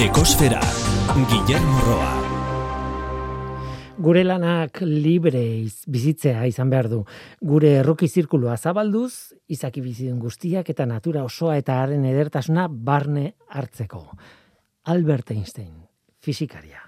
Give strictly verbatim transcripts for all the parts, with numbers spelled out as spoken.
Ekosfera, Guillermo Roa. Gure lanak libre bizitzea izan behar du. Gure erroki zirkulua zabalduz, izaki bizidun guztiak eta natura osoa eta haren edertasuna barne hartzeko. Albert Einstein, fisikaria.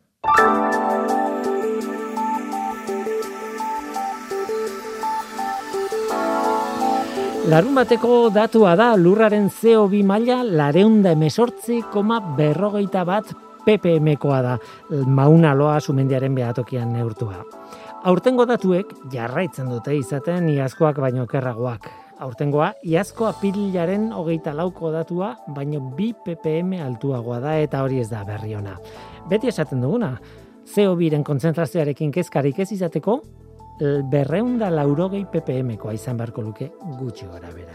Larun bateko datua da lurraren C O bi maila lareunda emesortzi koma berrogeita bat ppmkoa da, Mauna Loa sumendiaren behatokian neurtua. Aurtengo datuek jarraitzen dute izaten iazkoak baino okerragoak. Aurtengoa iazko apirilaren hogeita lauko datua baino bi ppm altuagoa da eta hori ez da berri ona. Beti esaten duguna, C O biren kontzentrazioarekin kezkarik ez izateko, berreunda laurogei ppmkoa izan beharko luke gutxi gora bera.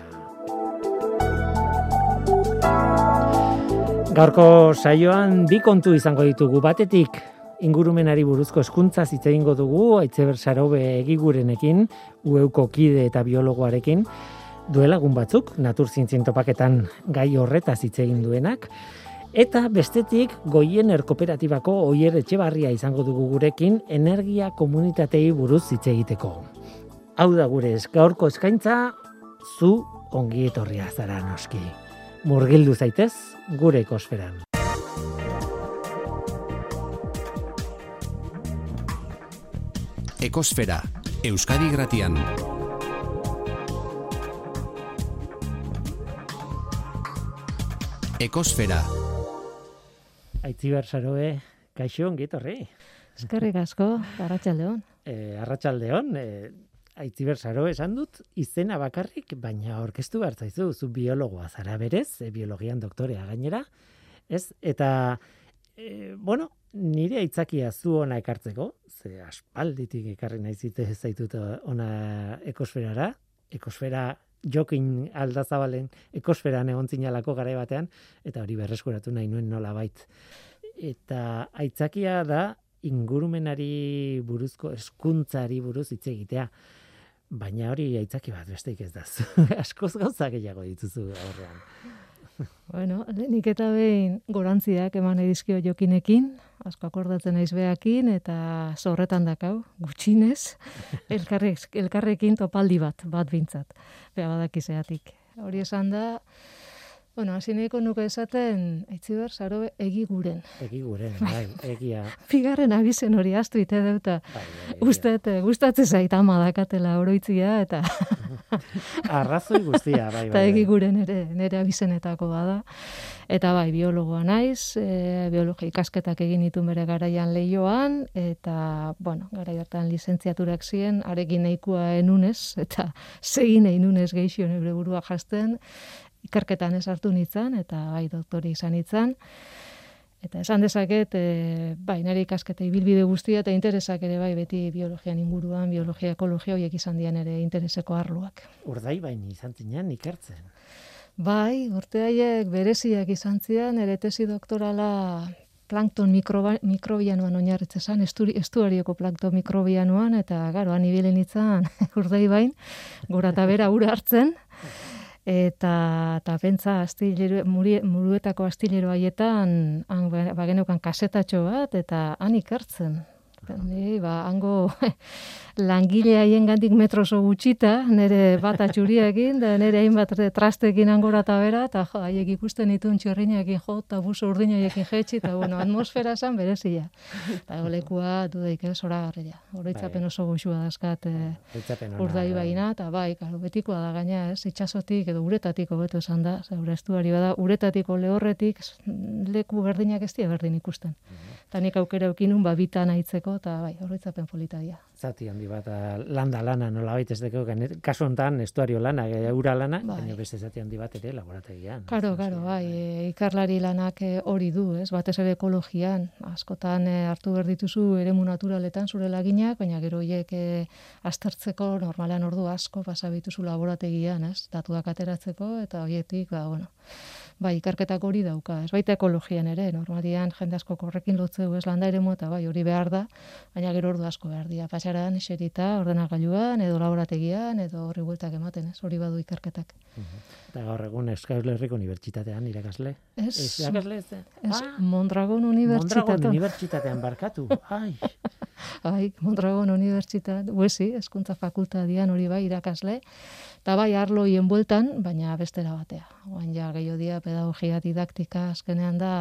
Gaurko saioan bi kontu izango ditugu. Batetik ingurumenari buruzko hezkuntza hitz egingo dugu Aitziber Sarobe egigurenekin, U Euko kide eta biologoarekin, duela egun batzuk naturzientzien topaketan gai horretaz hitz egin duenak. Eta bestetik Goiener kooperatibako Oier Etxebarria izango dugu gurekin energia komunitatei buruz hitz egiteko. Hau da gure gaurko eskaintza, zu ongi etorria zara noski. Murgildu zaitez gure ekosferan. Ekosfera, Euskadi Gratian. Ekosfera. Aitziber Sarobe, kaixo ongi etorri. Eskerrik asko, arratsaldeon. Eh, arratsaldeon, eh, Aitziber Sarobe esan dut izena bakarrik, baina aurkeztu behar zaizu, zu biologoa zara berez, e, biologian doktorea gainera, ez? Eta, e, bueno, nire aitzakia zu ona ekartzeko, ze aspalditik ekarri nahi zite zaitut ona ekosferara, ekosfera Jokin Aldazabalen ekosferan egon zinalako garai batean, eta hori berreskuratu nahi nuen nolabait. Eta aitzakia da ingurumenari buruzko, hezkuntzari buruz hitz egitea. Baina hori aitzaki bat besteik ez da. Askoz gauza gehiago dituzu aurrean. Bueno, nik eta behin gorantziak eman edizkio Jokinekin, asko akordatzen naiz beakin, eta zorretan dakau, gutxinez, elkarrek, elkarrekin topaldi bat, bat bintzat, bea badakizeatik. Hori esan da, bueno, hasi nahiko nuke esaten, Aitziber Sarobe egiguren. Egiguren, bai, egia. Bigarren abizen hori astu ite deuta. Bai, Ustet, gustatzen zait ama dakatela oroitzia, eta arrazoi guztia, bai, bai. Eta egiguren ere, nire abizenetako bada. Eta bai, biologoa naiz, e, biologia ikasketak egin ditu bere garaian Leioan, eta, bueno, garai hartan lizentziaturak ziren, arekin nahikoa enunez, eta segin enunez geixio neure burua jasten, ikerketan ez hartu nintzen, eta bai, doktori izan nintzen. Eta esan dezaket, e, bai, nire ikasketa ibilbide guztia, eta interesak ere bai, beti biologian inguruan, biologia, ekologia, horiek izan dian ere intereseko arloak. Urdai baini izan zinean ikertzen. Bai, urte haiek bereziak izan zian, ere tesi doktorala plankton mikroba, mikrobianoan oinarritzen, estuarioko plankton mikrobianoan, eta garo, han ibili nintzen urdai bain, gora eta bera ura hartzen, eta eta pentsa astillero muruetako astillero haietan han bageneukan kasetatxo bat eta han ikertzen. Ni ba hango langile haiengandik metroso gutxita, nere bata txuriarekin da nere hainbat trasteekin angora ta bera eta jo haiek ikusten ditun txorrinekin jo ta buso urdinaiekin jetzi ta bueno, atmosfera san berezia. Ta golekua dudaik ez oragarria. Oroitzapen oso goxua daskat urdai baina ta bai, claro, betikoa da gaina, ez? Itsasotik edo uretatik hobeto esan da, zeure estuari bada, uretatiko lehorretik leku berdinak ez dira berdin ikusten. Ta nik aukera eukinun ba bitan aitzeko eta bai, oroitzapen polita dira. Zati handi bat landa lana nolabait ez deko, kasu hontan estuario lana, ura lana, bai. Baina beste zati handi bat ere laborategian. Karo, karo, bai, e, ikerlari lanak hori du, ez? Batez ere ekologian, askotan e, hartu behar dituzu eremu naturaletan zure laginak, baina gero hiek e, aztertzeko normalan ordu asko pasa bituzu laborategian, ez? Datuak ateratzeko eta horietik, ba, bueno, bai, ikerketak hori dauka, ez baita ekologian ere, normalian jende asko horrekin lotzeu ez landa eremu eta bai, hori behar da, baina gero ordu asko behar dira, pasaran, eserita, ordenagailuan, edo laborategian, edo horri bueltak ematen, ez, hori badu ikerketak. Eta gaur egun Euskal Herriko Unibertsitatean irakasle? Ez, Ez irakasle ez? ez Ah, Mondragon Unibertsitatean. Mondragon Unibertsitatean barkatu. Ai, Bai, Mondragon Unibertsitate, huesi, hezkuntza fakultadian hori bai irakasle, eta bai arloien bueltan, baina bestera batea. Oan ja gehiago dia pedagogia didaktika azkenean da,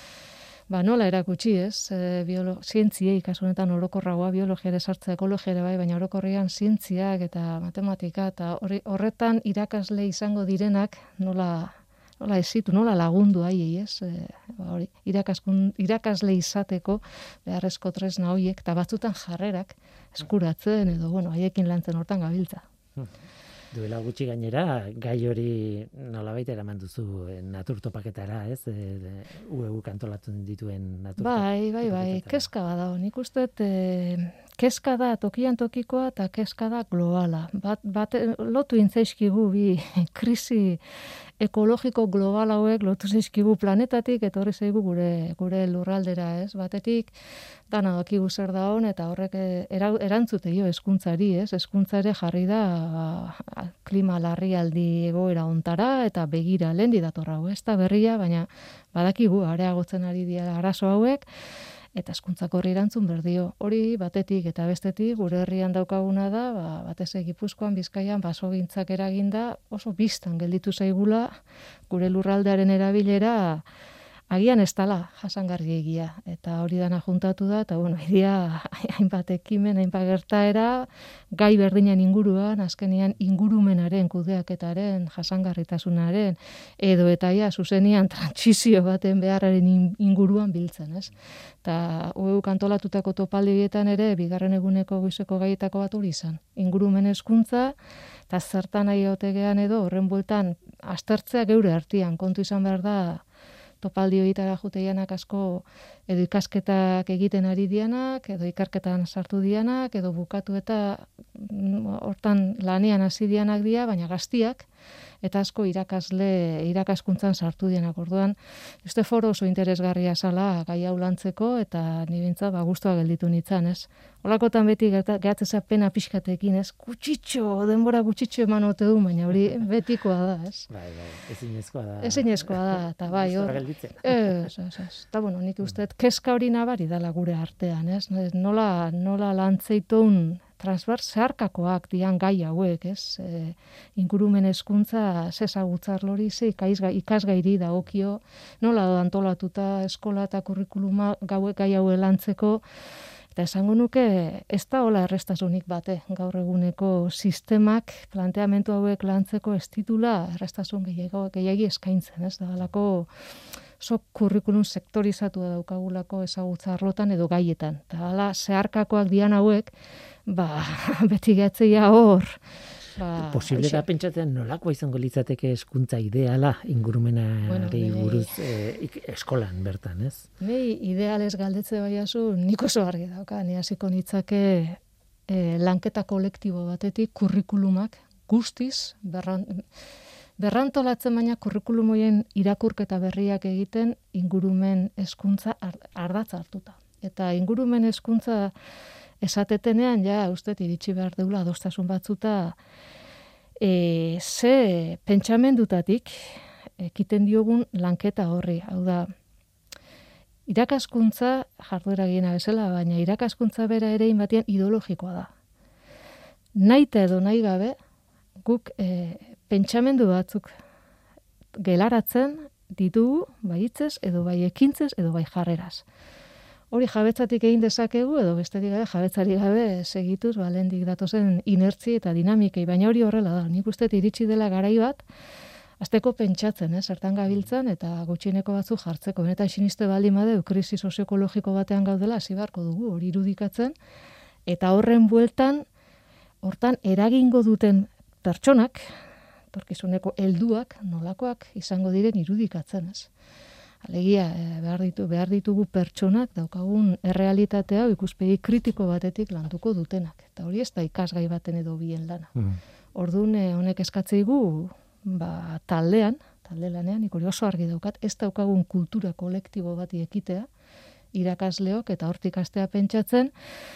ba nola erakutsi ez, e, biolo, zientziei, kasu honetan orokorragoa, biologia ere sartzea, ekologia ere bai, baina orokorrean zientziak eta matematika, eta horri, horretan irakasle izango direnak nola nola ezitu, nola lagundu haiei, ez? E, ba, hori, irakaskun, irakasle izateko beharrezko tresna horiek, eta batzutan jarrerak eskuratzen, edo, bueno, haiekin lantzen hortan gabiltza. duela gutxi gainera, gai hori nolabait eraman duzu eh, naturtopaketara, ez? E, U E U antolatzen dituen naturtopaketara. Bai, bai, bai, kezka bada, nik uste, e, kezka da tokian tokikoa eta kezka da globala. Bat, bat lotu intzaizkigu bi krisi ekologiko global hauek lotu zaizkigu planetatik eta horri zaigu gure gure lurraldera, ez? Batetik dana dakigu zer da hon eta horrek era, erantzute dio hezkuntzari, ez? Hezkuntza ere jarri da ba, klima larrialdi egoera hontara eta begira lendi dator hau, ez da berria, baina badakigu areagotzen ari dira arazo hauek. Eta hezkuntzako horri erantzun berdio. Hori batetik eta bestetik gure herrian daukaguna da, ba, batez ere Gipuzkoan, Bizkaian basogintzak eraginda oso biztan gelditu zaigula gure lurraldearen erabilera agian ez dala jasangarri egia. Eta hori dana juntatu da, eta bueno, idia hainbat ekimen, hainbat gertaera, gai berdinen inguruan, azkenean ingurumenaren, kudeaketaren, jasangarritasunaren, edo eta ja, zuzenian trantsizio baten beharraren inguruan biltzen, ez? Eta U E U kantolatutako topaldi horietan ere, bigarren eguneko goizeko gaietako bat hori izan. Ingurumen hezkuntza, eta zertan nahi otegean edo, horren bueltan, aztertzea geure artean, kontu izan behar da, topaldi horietara juteianak asko edo ikasketak egiten ari dianak, edo ikerketan sartu dianak, edo bukatu eta hortan lanean hasi dianak dira, baina gaztiak, eta asko irakasle, irakaskuntzan sartu dianak. Orduan, este foro oso interesgarria zala gai hau lantzeko, eta nibintza ba, guztua gelditu nintzen, ez? Holakotan beti gehatzea pena pixkatekin, ez? Gutxitxo, denbora gutxitxo eman ote du, baina hori betikoa da, ez? Bai, bai, ezinezkoa da. Ezinezkoa da, eta bai, hor. Ez, ez, ez. Eta bueno, nik uste, kezka hori nabari dala gure artean, ez? Nola, nola lantzeitun transvers zeharkakoak dian gai hauek, ez? E, ingurumen hezkuntza zezagutzar lori ze ikasgairi dagokio, nola da antolatuta eskola eta kurrikuluma gauek gai haue lantzeko, eta esango nuke ez da hola errestasunik bate, gaur eguneko sistemak planteamendu hauek lantzeko ez titula errestasun gehiagi eskaintzen, ez? Da halako so kurrikulum sektorizatua daukagulako ezagutza arlotan edo gaietan. Eta hala zeharkakoak dian hauek, ba, beti gehatzeia hor. Ba, posible da pentsatzen nolakoa izango litzateke hezkuntza ideala ingurumenari bueno, buruz eh, eskolan bertan, ez? Nei ideales galdetze baiazu, nik oso argi dauka, ni hasiko nitzake eh, lanketa kolektibo batetik kurrikulumak guztiz berran, berrantolatzen baina kurrikulum horien irakurketa berriak egiten ingurumen hezkuntza ardatz hartuta. Eta ingurumen hezkuntza esatetenean, ja, uste, iritsi behar deula adostasun batzuta, e, ze pentsamendutatik ekiten diogun lanketa horri. Hau da, irakaskuntza, jarduera giena bezala, baina irakaskuntza bera ere inbatian ideologikoa da. Naita edo nahi gabe, guk e, pentsamendu batzuk gelaratzen ditugu, bai hitzez, edo bai ekintzez, edo bai jarreraz. Hori jabetzatik egin dezakegu, edo bestetik gabe jabetzari gabe segituz, ba, lehendik datozen inertzi eta dinamikei, baina hori horrela da. Nik uste iritsi dela garai bat, azteko pentsatzen, eh, zertan gabiltzan, eta gutxieneko batzu jartzeko. Benetan siniste baldin badeu, krisi sozioekologiko batean gaudela, hasi beharko dugu, hori irudikatzen, eta horren bueltan, hortan eragingo duten pertsonak, torkizuneko helduak, nolakoak izango diren irudikatzen, ez? Alegia, behar, ditu, behar ditugu pertsonak daukagun errealitatea ikuspegi kritiko batetik landuko dutenak. Eta hori ez da ikasgai baten edo bien lana. Mm. Orduan honek eskatzeigu ba, taldean, talde lanean, nik hori oso argi daukat, ez daukagun kultura kolektibo bati ekitea, irakasleok eta hortik astea pentsatzen,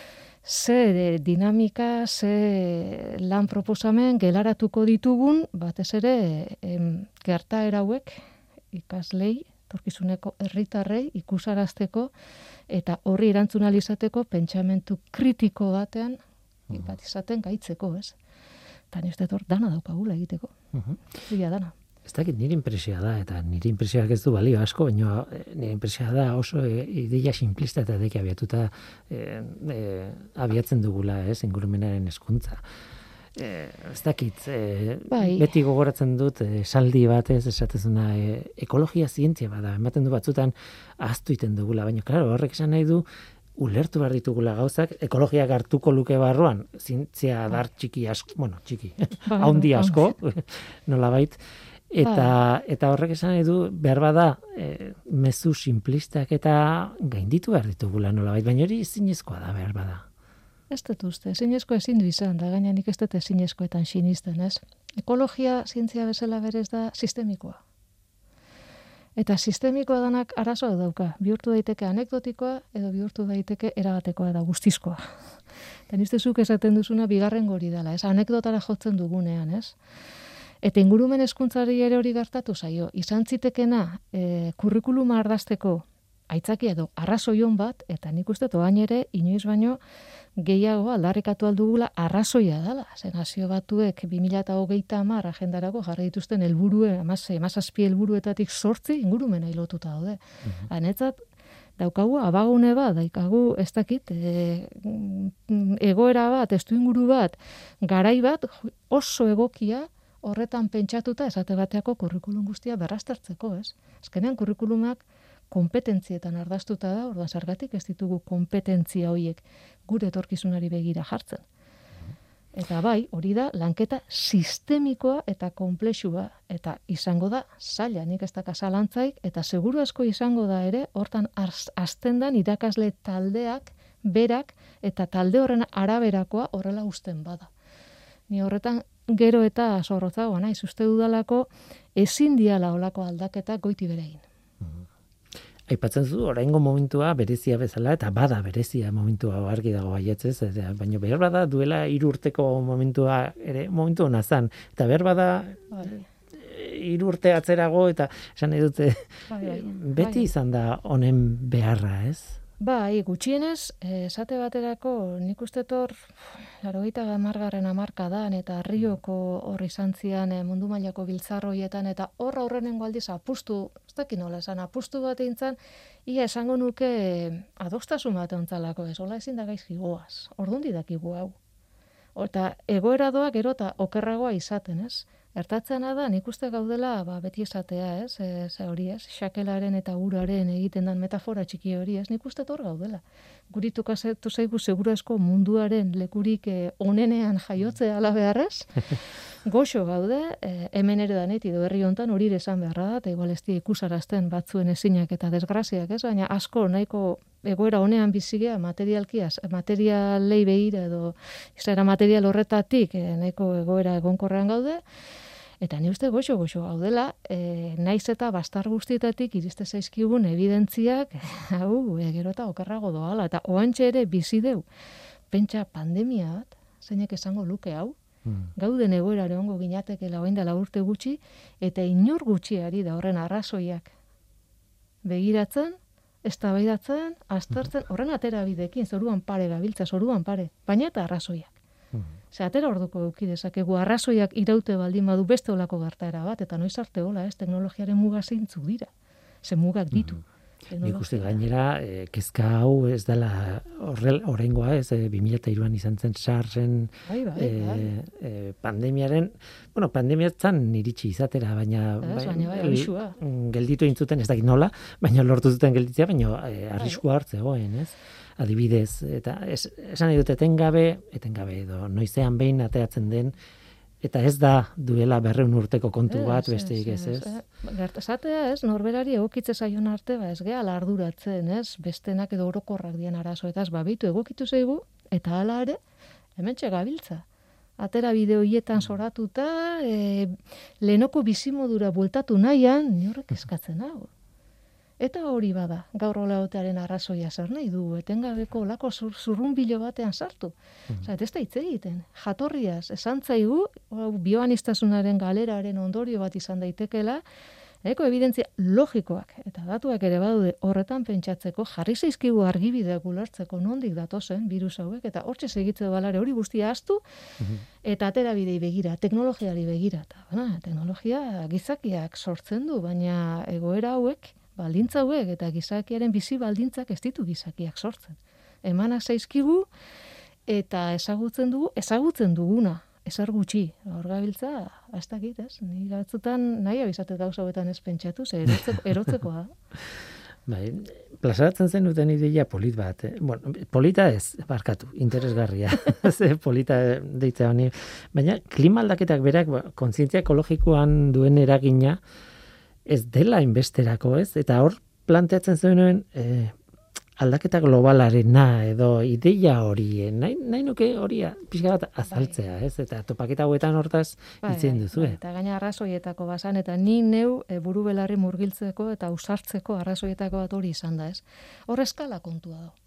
ze dinamika, ze lan proposamen gelaratuko ditugun, batez ere em, gertaera hauek ikaslei, torkizuneko herritarrei ikusarazteko eta horri erantzun ahal izateko pentsamentu kritiko batean bat izaten gaitzeko, ez? Eta nire hor dana daukagula egiteko. Zia dana. Ez dakit, nire impresioa da, eta nire impresioak ez du balio asko, baina nire impresioa da oso ideia simplista eta deki abiatuta e, e, abiatzen dugula, ez, ingurumenaren hezkuntza. E, ez dakit, e, bai. Beti gogoratzen dut esaldi batez, esatezuna, e, ekologia zientzia bada, ematen du batzutan ahaztu iten dugula, baina, klaro, horrek esan nahi du, ulertu behar ditugula gauzak, ekologiak hartuko luke barruan, zientzia dar txiki asko, bueno, txiki, haundi asko, nolabait, eta eta horrek esan nahi du, behar bada, e, mezu simplistak eta gainditu behar ditugula nolabait, baina hori ezinezkoa da behar bada. Ez dut uste, ezinezko ezin du izan, da gaina nik ez dut ezinezkoetan sinisten, ez? Ekologia zientzia bezala berez da sistemikoa. Eta sistemikoa danak arazoa dauka. Bihurtu daiteke anekdotikoa edo bihurtu daiteke erabatekoa eta guztizkoa. Eta nizte zuk esaten duzuna bigarren gori dela, ez? Anekdotara jotzen dugunean, ez? Eta ingurumen hezkuntzari ere hori gertatu zaio. Izan zitekena e, kurrikuluma ardazteko aitzakia edo arrazoion bat, eta nik uste toain ere inoiz baino gehiago aldarrikatu aldugula arrazoia dela. Zen nazio batuek bi mila hogeita hamar agendarako jarri dituzten helburue, hamazazpi helburuetatik zortzi ingurumena lotuta daude. Mm-hmm. Hanetzat, daukagu abagune bat, daikagu ez dakit, e, egoera bat, testu inguru bat, garai bat oso egokia horretan pentsatuta esate bateako kurrikulum guztia berraztertzeko, ez? Azkenean kurrikulumak kompetentzietan ardaztuta da, orduan zergatik ez ditugu kompetentzia horiek gure etorkizunari begira jartzen. Eta bai, hori da lanketa sistemikoa eta konplexua, eta izango da zaila, nik ez daka zalantzaik, eta seguru asko izango da ere, hortan hasten dan irakasle taldeak, berak, eta talde horren araberakoa horrela uzten bada. Ni horretan gero eta zorrotzagoa naiz, uste dudalako ezin diala olako aldaketa goiti berein. Aipatzen zu, oraingo momentua berezia bezala, eta bada berezia momentua argi dago baietzez, baina behar bada duela hiru urteko momentua ere momentu hona zan, eta behar bada hiru urte atzerago, eta esan nahi dute, bai, bai, beti bai. Izan da honen beharra, ez? Bai, gutxienez, esate baterako nik uste tor, laurogeita hamargarren hamarkadan eta Rioko horri zantzian mundu mailako biltzarroietan eta horra horrenengo aldiz apustu, ez dakit nola esan, apustu bat eintzan, ia esango nuke adostasun bat ontzalako ez, hola ezin da gaizki goaz, orduan didakigu hau. Eta egoera doa gero eta okerragoa izaten, ez? Ertatzena da, nik uste gaudela, ba, beti esatea, ez, ez hori, ez, xakelaren eta uraren egiten dan metafora txiki hori, ez, nik uste hor gaudela. Guritu kasetu zaigu segurasko munduaren lekurik eh, onenean jaiotzea ala beharrez, goxo gaude, eh, hemen ere daneti edo herri hontan hori esan beharra da, eta igual ez di ikusarazten batzuen ezinak eta desgraziak, ez, baina asko nahiko egoera honean bizigea materialkiaz, materialei behira edo izera material horretatik eh, nahiko egoera egonkorrean gaude, eta ni uste goxo-goxo gaudela, e, naiz eta bastar guztietatik iriste zaizkigun evidentziak, hau, e, gero eta okerrago doala, eta oantxe ere bizi deu, pentsa pandemia bat, zeinek esango luke hau, hmm. gauden egoerare ongo ginatekela orain dela urte gutxi, eta inor gutxiari da horren arrazoiak begiratzen, eztabaidatzen, aztertzen, horren aterabidekin, zoruan pare gabiltza, zoruan pare, baina eta arrazoiak. Ze atera orduko eduki dezakegu arrazoiak iraute baldin badu beste olako gertaera bat, eta noiz arte hola, ez, teknologiaren muga zeintzuk dira. Ze mugak ditu. Mm. Nik uste gainera, e, kezka hau ez dela oraingoa, ez, e, bi mila hiruan izan zen SARSen bai, bai, e, bai. e, pandemiaren, bueno, pandemiatzen iritsi izatera, baina, ez, bai, baina bai, arrisua. Gelditu intzuten, ez dakit nola, baina lortu zuten gelditzea, baina e, arriskua hartzegoen, ez? Adibidez, eta es, esan nahi dut etengabe, etengabe edo noizean behin ateratzen den, eta ez da duela berreun urteko kontu bat, besteik ez, ez? Gertazatea ez, norberari egokitze zaion arte, ba ez gehala arduratzen, ez? Bestenak edo orokorrak dien arazoetaz, babitu egokitu zaigu, eta hala ere, hementxe gabiltza. atera bideoietan soratuta, e, lehenoko bizimodura bueltatu nahian, ni horrek eskatzen hau. Eta hori bada, gaur olaotearen arrazoia zer nahi du, etengabeko olako zur, zurrunbilo batean sartu. Mm. Osa, ez da hitz egiten. Jatorriaz, esan zaigu, bioanistasunaren galeraren ondorio bat izan daitekela, eko evidentzia logikoak eta datuak ere badude horretan pentsatzeko, jarri zaizkigu argibideak ulertzeko nondik datozen virus hauek, eta hortxe segitze balare hori guztia astu, mm-hmm. eta atera bidei begira, teknologiari begira. Eta, bana, teknologia gizakiak sortzen du, baina egoera hauek, baldintza hauek eta gizakiaren bizi baldintzak ez ditu gizakiak sortzen. Emanak zaizkigu eta ezagutzen dugu, ezagutzen duguna, ezer gutxi. Hor gabiltza, ez dakit, ez? Ni batzutan nahi abizatet gauza hauetan ez pentsatu, ze erotzeko, erotzekoa. Bai, plazaratzen zen duten ideia polit bat. Eh? Bueno, polita ez, barkatu, interesgarria. Ze polita deitzea honi. Baina klima aldaketak berak, ba, kontzientzia ekologikoan duen eragina, ez dela inbesterako, ez? Eta hor planteatzen zuen eh, aldaketa globalarena edo ideia hori, nahi, nahi nuke hori pixka bat azaltzea, ez? Eta topaketa hauetan hortaz itzen duzu. Bai, eta gaina arrazoietako basan, eta ni neu e, buru belarri murgiltzeko eta usartzeko arrazoietako bat hori izan da, ez? Hor eskala kontua da.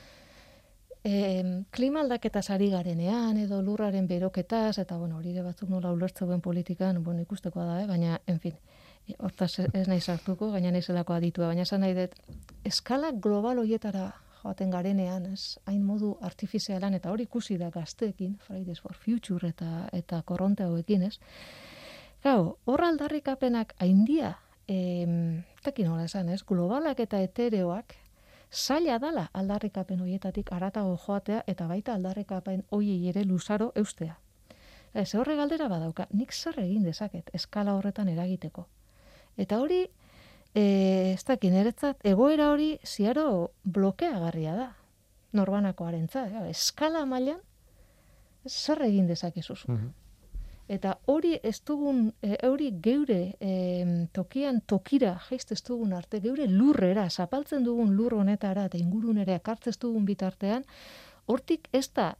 E, klima aldaketaz ari garenean edo lurraren beroketaz, eta bueno, hori ere batzuk nola ulertzen duen politikan, bueno, ikustekoa da, eh? Baina, en fin, hortaz ez nahi sartuko, gaina naizelako aditua, baina esan nahi dut, eskala global hoietara joaten garenean, ez, hain modu artifizialan, eta hori ikusi da gazteekin, Fridays for Future eta, eta korronte hauekin, ez. Gau, hor aldarrikapenak haindia, takin hola esan, ez, globalak eta etereoak, zaila dala aldarrikapen hoietatik aratago joatea, eta baita aldarrikapen hoiei ere luzaro eustea. Ez horre galdera badauka, nik zer egin dezaket eskala horretan eragiteko. Eta hori, e, ez dakin, eretzat, egoera hori ziaro blokeagarria da, norbanakoarentzat, ja, eskala mailan zer egin dezakezuz. Mm-hmm. Eta hori ez dugun, e, hori geure e, tokian tokira jaizte ez dugun arte, geure lurrera, zapaltzen dugun lur honetara eta ingurunera ekartzez dugun bitartean, hortik ez da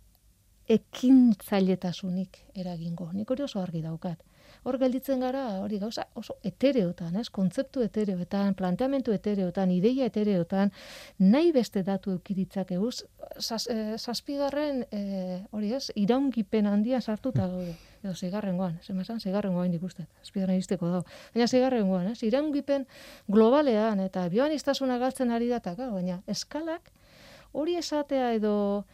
ekintzailetazunik eragingo. Nik hori oso argi daukat. Hor gelditzen gara, hori gauza oso etereotan, ez? Kontzeptu etereotan, planteamentu etereotan, ideia etereotan, nahi beste datu eukiritzak eguz, zazpigarren, e, hori ez, iraungipen handian sartuta gaude. Edo zigarrengoan, zemazan, zigarrengoan ikustet, zazpigarren izteko dago. Baina zigarrengoan, ez? Iraungipen globalean eta bioanistasuna galtzen ari dataka, baina eskalak hori esatea edo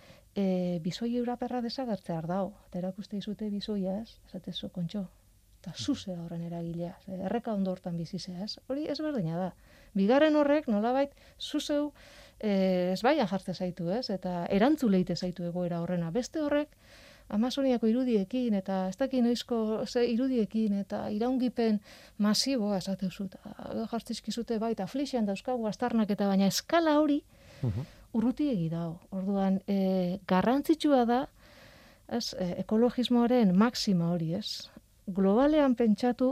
e, bizoi euraperra desagertzea ardau. Eta erakuste izute bizoia, ez? Esatezu, kontxo. Eta zuzea horren eragilea, erreka ondo hortan bizizea, ez? Hori ez berdina da. Bigarren horrek, nolabait, zuzeu eh, ez baia jartze zaitu, ez? Eta erantzuleite zaitu egoera horrena. Beste horrek, Amazoniako irudiekin, eta ez dakin noizko ze irudiekin, eta iraungipen masiboa esateuzu, eta jartzizkizute baita, flixian dauzkagu astarnak, eta baina eskala hori urrutiegi dago. Orduan, e, garrantzitsua da, ez, e, ekologismoaren maksima hori, ez? Globalean pentsatu,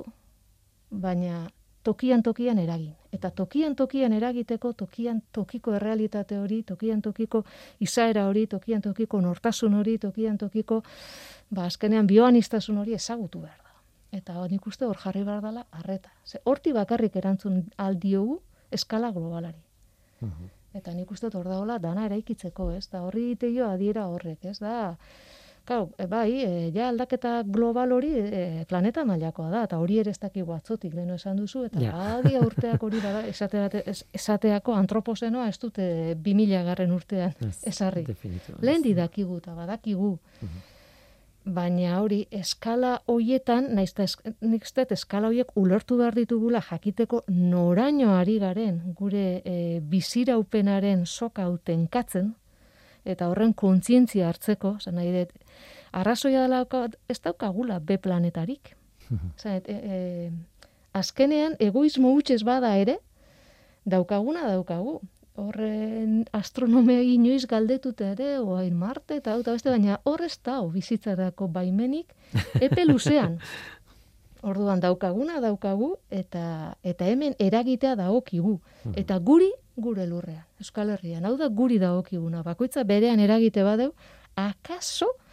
baina tokian tokian eragin. Eta tokian tokian eragiteko, tokian tokiko errealitate hori, tokian tokiko izaera hori, tokian tokiko nortasun hori, tokian tokiko, ba, azkenean bioanistasun hori ezagutu behar da. Eta nik uste hor jarri behar dela arreta. Ze, horti bakarrik erantzun aldiogu eskala globalari. Uh-huh. Eta nik uste hor daola dana eraikitzeko, ez? Da horri egiteio adiera horrek, ez? Da, Kau, e, bai, e, ja aldaketa global hori e, planeta mailakoa da, eta hori ere ez dakigu atzotik, leheno esan duzu, eta yeah. Adia urteak hori bada, esate, es, esateako antroposenoa ez dute bi mila garren urtean ezarri. Lehen didakigu eta badakigu. Uh-huh. Baina hori, eskala hoietan, naizta es, nik ztet, eskala hoiek ulertu behar ditugula jakiteko noraino ari garen gure e, biziraupenaren soka utenkatzen, eta horren kontzientzia hartzeko, zan nahi dut, arrazoia dela ez daukagula B planetarik. Zan, e, e, azkenean, egoismo hutsez bada ere, daukaguna daukagu. Horren astronomea inoiz galdetuta ere, oain Marte, eta hau beste, baina horrez da, bizitzarako baimenik, epe luzean. Orduan daukaguna daukagu, eta, eta hemen eragitea dagokigu. Eta guri, gure lurrean, Euskal Herrian. Hau da guri dagokiguna. Bakoitza berean eragite badeu, akaso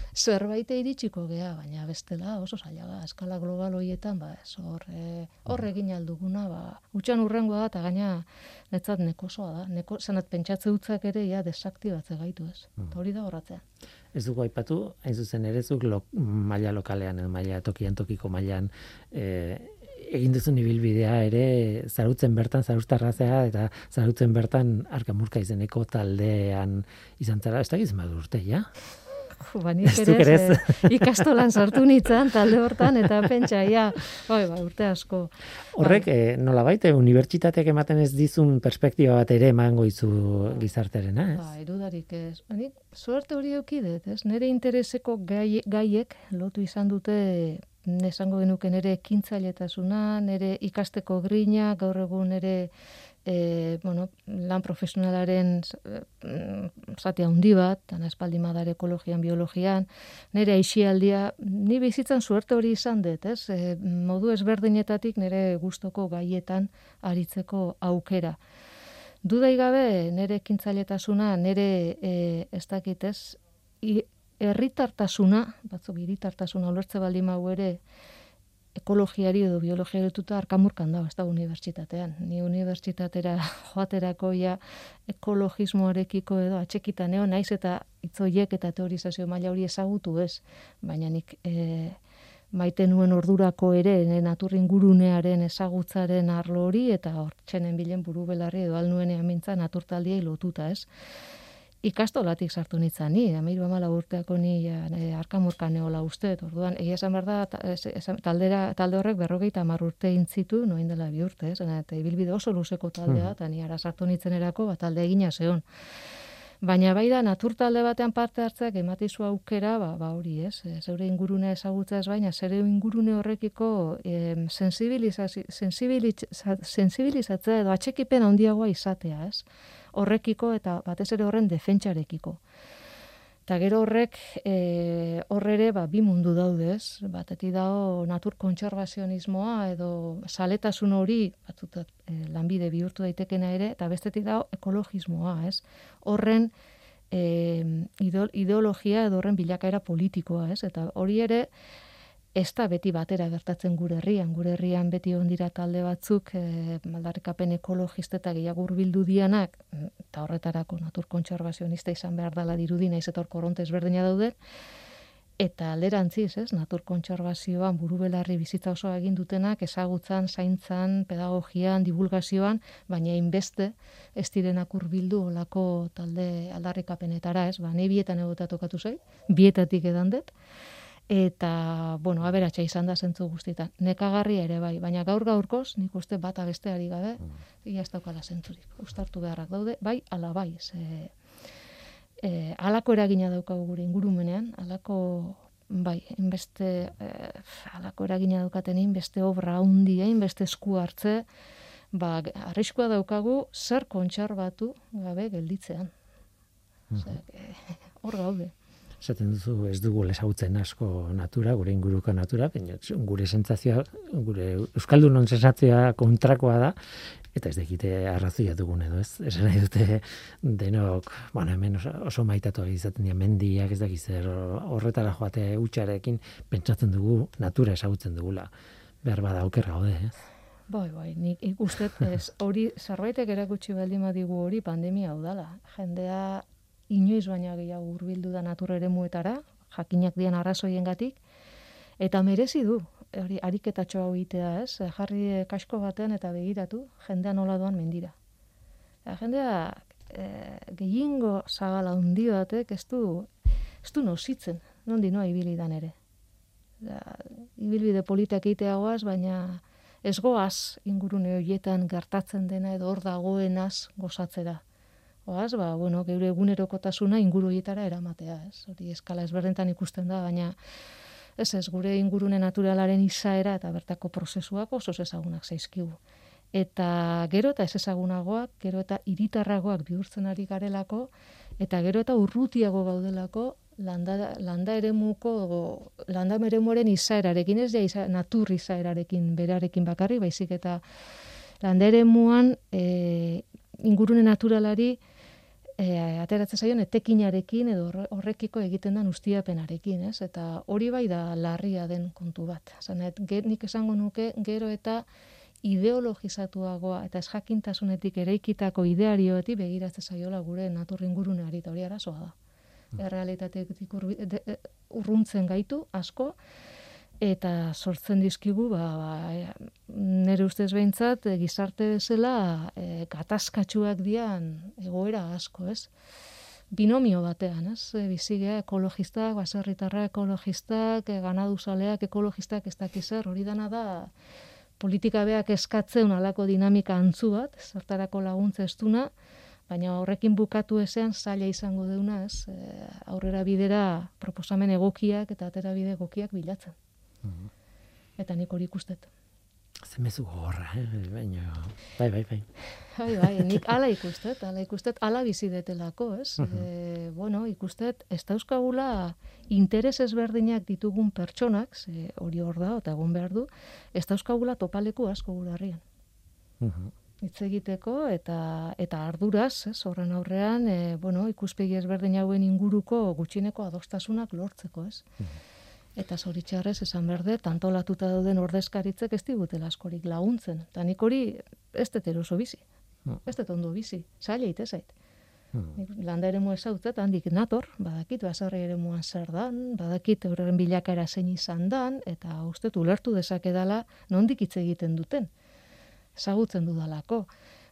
zerbait iritsiko gea, baina bestela oso zaila da, eskala global horietan, ba, ez, hor, e, hor egin alduguna, ba, utxan urrengoa da, eta gaina netzat nekosoa da, neko, zanat pentsatze utzak ere, ja, desaktibatze gaitu, ez, eta hori da horratzea. Ez dugu aipatu, hain zuzen ere, zuk lo, maila lokalean, maila tokian tokiko mailan, e, egin duzun ibilbidea ere, zarutzen bertan, zarustarrazea, eta zarutzen bertan arkamurka izeneko taldean izan zara, ez da gizien bat urte, ja? Ba, nik ere ez, eh, ikastolan sartu nintzen talde hortan, eta pentsa, ja, bai, ba, urte asko. Horrek, Bai. eh, nolabait, eh, unibertsitateak ematen ez dizun perspektiba bat ere emango izu gizarterena, ez? Ba, erudarik ez. Nik suerte hori eukidet, ez? Nere intereseko gai, gaiek lotu izan dute, esango genuke nere ekintzailetasuna, nere ikasteko grina, gaur egun nere E, bueno, lan profesionalaren zati handi bat, dana espaldi madar ekologian, biologian, nire aixialdia, ni bizitzan suerte hori izan dut, ez? E, modu ezberdinetatik nire gustoko gaietan aritzeko aukera. Dudai gabe, nire ekintzailetasuna, nire e, ez dakit, ez? Herritartasuna, batzuk hiritartasuna ulertze baldin mau ere, ekologiari edo biologiari lotuta arkamurkan da, ez da unibertsitatean. Ni unibertsitatera joaterako ja ekologismoarekiko edo atxekitan eo, naiz eta hitzoiek eta teorizazio maila hori ezagutu ez, baina nik e, maite nuen ordurako ere natur ingurunearen ezagutzaren arlo hori eta hortxenen bilen buru belarri edo alnuenean mintza naturtaldiei lotuta ez. Ikastolatik sartu nintzen ni, amairu amala urteako ni ja, e, arkamurkan neola uste, orduan, egia esan behar da, ta, esan, taldera, talde horrek berrogeita hamar urte intzitu, noin dela bi urte, ez, eta ibilbide oso luzeko taldea, eta ni ara sartu nintzen erako, bat talde egina zeon. Baina bai da, natur talde batean parte hartzeak ematizu aukera, ba, ba hori ez, e, zeure ingurune ezagutza ez baina, zeure ingurune horrekiko e, sensibilizatzea sensibilizatzea edo atxekipen handiagoa izatea, ez? Horrekiko eta batez ere horren defentsarekiko. Eta gero horrek e, horrere ba, bi mundu daude, ez? Batetik dago natur kontserbazionismoa edo saletasun hori batzutat e, lanbide bihurtu daitekena ere, eta bestetik dago ekologismoa, ez? Horren e, ideologia edo horren bilakaera politikoa, ez? Eta hori ere ez da beti batera gertatzen gure herrian. Gure herrian beti ondira talde batzuk e, aldarrikapen ekologista eta gehiago hurbildu dianak, eta horretarako natur kontserbazionista izan behar dela dirudi, naiz eta hor korronte ezberdina daude, eta alderantziz, ez, natur kontserbazioan buru belarri bizitza oso egin dutenak ezagutzan, zaintzan, pedagogian, divulgazioan, baina inbeste ez direnak hurbildu olako talde aldarrikapenetara, ez, ba, nahi bietan egota tokatu zait, bietatik edan dut, eta, bueno, aberatsa izan da zentzu guztietan. Nekagarria ere bai, baina gaur gaurkoz, nik uste bata besteari gabe, ia ez daukala zentzurik. Uztartu beharrak daude, bai, ala bai. Ze, e, alako eragina daukagu gure ingurumenean, alako, bai, inbeste, e, alako eragina daukaten inbeste obra handia, inbeste esku hartze, ba, arriskua daukagu zer kontserbatu gabe gelditzean. Zer, e, hor gaude. Esaten duzu ez dugu ezagutzen asko natura, gure inguruko natura, baina gure sentsazioa, gure euskaldunon sentsazioa kontrakoa da, eta ez dakite arrazoia dugun edo, ez? Esan nahi dute denok, bueno, hemen oso, oso maitatu izaten dira mendiak, ez dakiz zer, horretara joate hutsarekin pentsatzen dugu natura ezagutzen dugula. Behar bada oker gaude, ez? Bai, bai, nik ikustet ez hori zerbaitek erakutsi baldin badigu hori pandemia hau dela. Jendea inoiz baina gehiago hurbildu da natur eremuetara, jakinak dian arrazoiengatik, eta merezi du, hori ariketatxo hau egitea, ez? Jarri kasko baten eta begiratu, jendea nola doan mendira. Eta jendea e, gehiengo zabala handi batek ez du, ez du nozitzen, nondi noa ibilidan ere. Da, ibilbide politak egiteagoaz, baina ez goaz ingurune horietan gertatzen dena edo hor dagoenaz gozatzera. Oaz, ba, bueno, geure egunerokotasuna inguru horietara eramatea, ez? Hori eskala ezberdentan ikusten da, baina ez ez, gure ingurune naturalaren izaera eta bertako prozesuak oso ezagunak zaizkigu. Eta gero eta ez ezagunagoak, gero eta hiritarragoak bihurtzen ari garelako, eta gero eta urrutiago gaudelako landa, landa eremuko, landa eremuaren izaerarekin, ez ja iza, natur izaerarekin, berarekin bakarri, baizik eta landa eremuan e, ingurune naturalari e, ateratzen zaion etekinarekin edo horrekiko egiten den ustiapenarekin, ez? Eta hori bai da larria den kontu bat. Zanet, nik esango nuke gero eta ideologizatuagoa eta ezjakintasunetik eraikitako idearioetik begiratzen zaiola gure natur inguruneari, eta hori arazoa da. Mm. Errealitatetik urruntzen gaitu asko, eta sortzen dizkigu, ba, ba, nire ustez behintzat, gizarte bezala e, gatazkatsuak dian egoera asko, ez? Binomio batean, ez? Bizigea ekologistak, baserritarra ekologistak, ganaduzaleak ekologistak, ez dakizer, hori dana da politika beak eskatzen alako dinamika antzu bat, zertarako laguntza estuna, baina horrekin bukatu ezean zaila izango deuna, ez? E, aurrera bidera proposamen egokiak eta atera bide egokiak bilatzen. Mm-hmm. Eta nik hori ikustet. Zemezu gogorra, eh? Baina, bai, bai, bai. Bai, bai, nik ala ikustet, ala ikustet, ala bizi detelako, ez? Mm-hmm. E, bueno, ikustet, ez dauzkagula interes ezberdinak ditugun pertsonak, ze hori hor da, eta egon behar du, ez dauzkagula topaleku asko gure harrian. Mm-hmm. Hitz egiteko, eta eta arduraz, ez, horren aurrean, e, bueno, ikuspegi ezberdin hauen inguruko gutxineko adostasunak lortzeko, ez? Mm-hmm. Eta zoritxarrez esan berde, tantolatuta dauden ordezkaritzek ez digutela askorik laguntzen. Eta nik hori ez dut eroso bizi. Mm. Ez dut ondo bizi. Zaila itezait. Mm. Landa ere mua ezautzet, handik nator, badakit, basarri ere muan zer dan, badakit horren bilakaera zein izan dan, eta uste ulertu dezakedala nondik hitz egiten duten. Ezagutzen dudalako.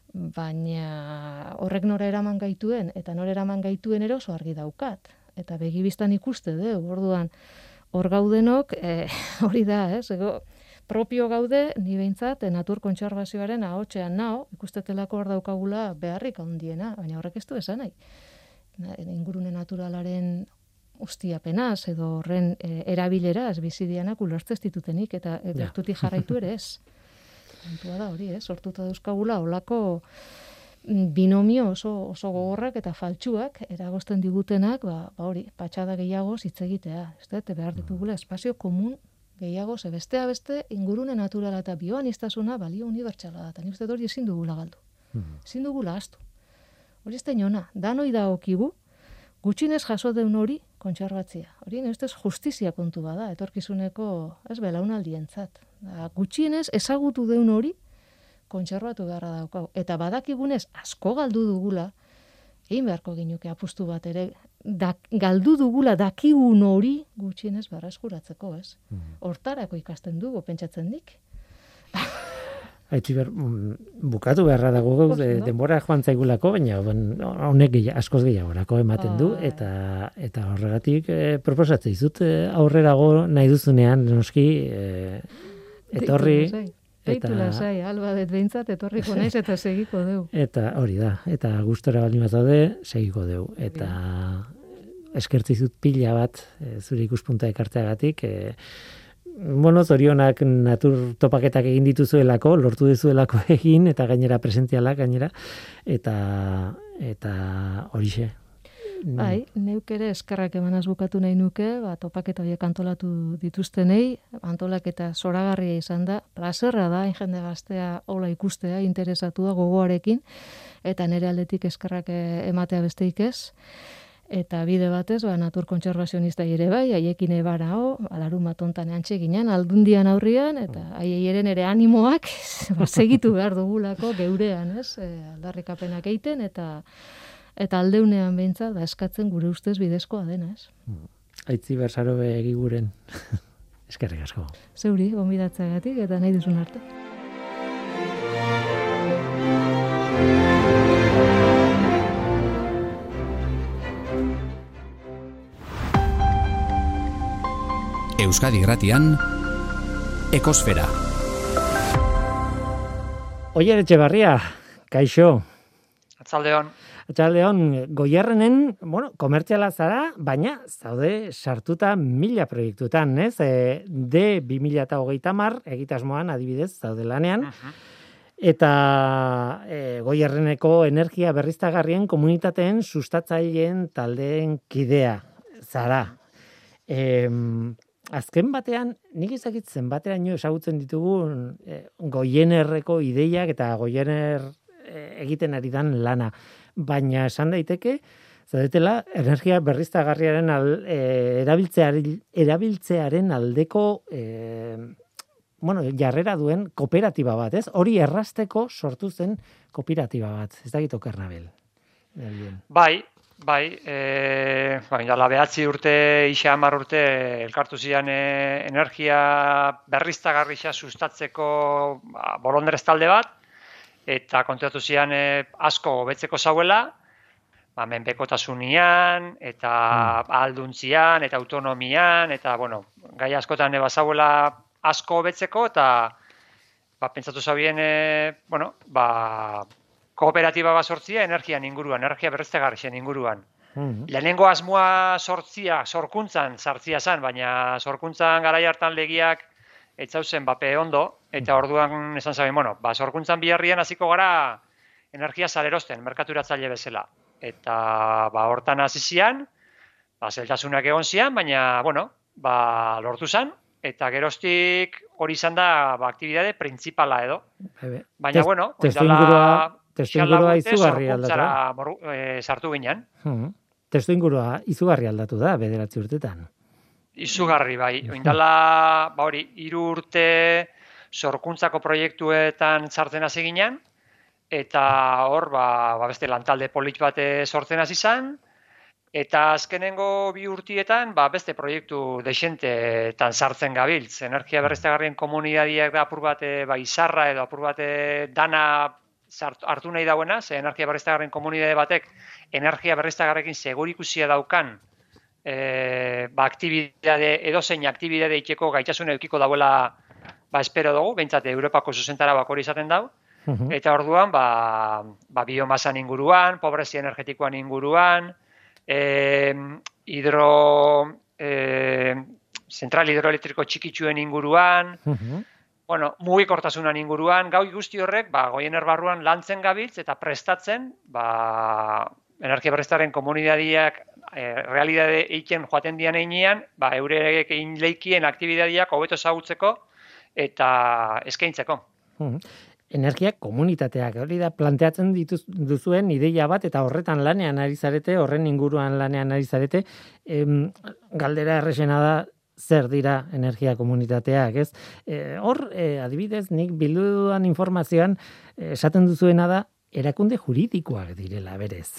Baina horrek nora eraman gaituen, eta nora eraman gaituen eroso argi daukat. Eta begibistan ikuste, de, orduan, hor gaudenok, eh, hori da, ez, ego, propio gaude, ni behintzat, natur kontserbazioaren ahotsean nao, ikustetelako hor daukagula beharrik handiena, baina horrek ez du esan nahi. Ingurune naturalaren ustiapenaz, edo horren e, erabileraz, bizidianak ulertzez ditutenik, eta e, gertutik jarraitu ere ez. Kontua da hori, ez, sortuta dauzkagula, holako binomio oso, oso gogorrak eta faltsuak eragozten digutenak, ba, ba hori, patxada gehiago hitz egitea, ez da, behar ditugula espazio komun gehiago, ze bestea beste ingurune naturala eta bioanistasuna balio unibertsala da, eta nik uste hori ezin dugula galdu, ezin dugula astu. Hori ez da inona, danoi da okigu, gutxinez jaso deun hori kontserbatzia. Hori nire ustez justizia kontu bada, etorkizuneko, ez belaunaldientzat. Da, gutxinez ezagutu deun hori, kontserbatu beharra daukau. Eta badakigunez asko galdu dugula, egin beharko ginuke apustu bat ere, da, galdu dugula dakigun hori gutxienez berreskuratzeko, ez? Hortarako ikasten dugu, pentsatzen dik. Aitziber, bukatu beharra dago de, denbora joan zaigulako, baina honek gehiago, askoz gehiagorako ematen du, eta eta horregatik eh, proposatzen dizut eh, aurrerago nahi duzunean, noski, eh, etorri... Eta lasai, alba det behintzat etorriko naiz eta segiko deu. Eta hori da, eta gustora baldin bat daude, segiko deu. Eta eskertzi zut pila bat, e, zure ikuspunta ekartzeagatik, e, bueno, zorionak natur topaketak egin dituzuelako, lortu dizuelako egin, eta gainera presentzialak gainera, eta eta horixe. Bai, neuk ere eskerrak emanaz bukatu nahi nuke, ba, topaketa horiek antolatu dituztenei, antolaketa zoragarria izan da, plazerra da, jende gaztea hola ikustea, interesatua gogoarekin, eta nire aldetik eskerrak ematea besteik ez, eta bide batez, ba, natur kontserbazionista ere bai, haiekin ebarao, alarun bat ontan antxe ginen, aldundian aurrian, eta haiei eren ere animoak, ba, segitu behar dugulako geurean, ez, e, aldarrikapenak eiten, eta eta aldeunean behintzat, ba, eskatzen gure ustez bidezkoa dena, ez? Aitziber Sarobe egiguren. Eskerrik asko. Zeuri, gonbidatzeagatik eta nahi duzun arte. Euskadi Irratian, Ekosfera. Oier Etxebarria, kaixo. Atzaldeon. Atzaldeon, Goierrenen, bueno, komertziala zara, baina zaude sartuta mila proiektutan, ez? E, D bi mila hogeita hamar egitasmoan adibidez zaude lanean. Uh-huh. Eta e, Goierreneko energia berriztagarrien komunitateen sustatzaileen taldeen kidea zara. E, azken batean, nik ezakit zenbateraino ezagutzen ditugun e, Goierreko ideiak eta Goierrer e, egiten ari dan lana. baina esan daiteke, zaudetela, energia berriztagarriaren al, e, erabiltzearen, erabiltzearen aldeko e, bueno, jarrera duen kooperatiba bat, ez? Hori errasteko sortu zen kooperatiba bat. Ez dakit Okernabel. Bai, bai, e, bai, dala behatzi urte, ixa hamar urte, elkartu zian e, energia berriztagarria sustatzeko ba, bolondrez talde bat, eta kontratu zian e, asko hobetzeko zauela, ba, menpekotasunean, eta mm. alduntzian, eta autonomian, eta, bueno, gai askotan eba zauela asko hobetzeko, eta ba, pentsatu zabien, e, bueno, ba, kooperatiba bat sortzia energian inguruan, energia berriztagarrien inguruan. Mm-hmm. Lehenengo asmoa sortzia, sorkuntzan sartzia zan, baina sorkuntzan garai hartan legiak etzauzen bape ondo, eta orduan esan zaben, bueno, ba, sorkuntzan biharrian hasiko gara energia salerosten, merkaturatzaile bezala. Eta ba, hortan hasi zian, ba, zeltasunak egon zian, baina, bueno, ba, lortu zan, eta geroztik hori izan da ba, aktibidade printzipala edo. Ebe. Baina, Test, bueno, testuingurua izugarri aldatu da. E, sartu ginen. Hmm. Testuingurua izugarri aldatu da, bederatzi urtetan. Izugarri, bai. Oindala, ba hori, hiru urte sorkuntzako proiektuetan sartzen hasi ginen, eta hor, ba, ba beste lantalde polit bat sortzen hasi izan, eta azkenengo bi urtietan, ba, beste proiektu desentetan sartzen gabiltz. Energia berriztagarrien komunidadiak da apur bat ba, izarra edo apur bat dana sartu, hartu nahi dauena, ze energia berriztagarrien komunidade batek energia berriztagarrekin segurikusia daukan e, ba, aktibidade, edozein aktibidade itxeko gaitasun edukiko dauela ba, espero dugu, behintzat Europako zuzentara bak hori izaten dau. Uh-huh. Eta orduan, ba, ba, biomasan inguruan, pobrezia energetikoan inguruan, Eh, hidro, eh, zentral hidroelektriko txikitsuen inguruan, uh-huh. bueno, mugikortasunan inguruan, gau guzti horrek, ba, Goiener barruan lantzen gabiltz eta prestatzen, ba, energia berriztaren komunidadiak eh, realidade eiken joaten dian einean, ba, eurek egin leikien aktibidadiak hobeto ezagutzeko eta eskaintzeko. Uh-huh. Energia komunitateak, hori da, planteatzen dituz, duzuen ideia bat, eta horretan lanean ari zarete, horren inguruan lanean ari zarete, em, galdera errexena da, zer dira energia komunitateak, ez? E, hor, e, adibidez, nik bilduan informazioan, e, esaten duzuena da, erakunde juridikoak direla, berez.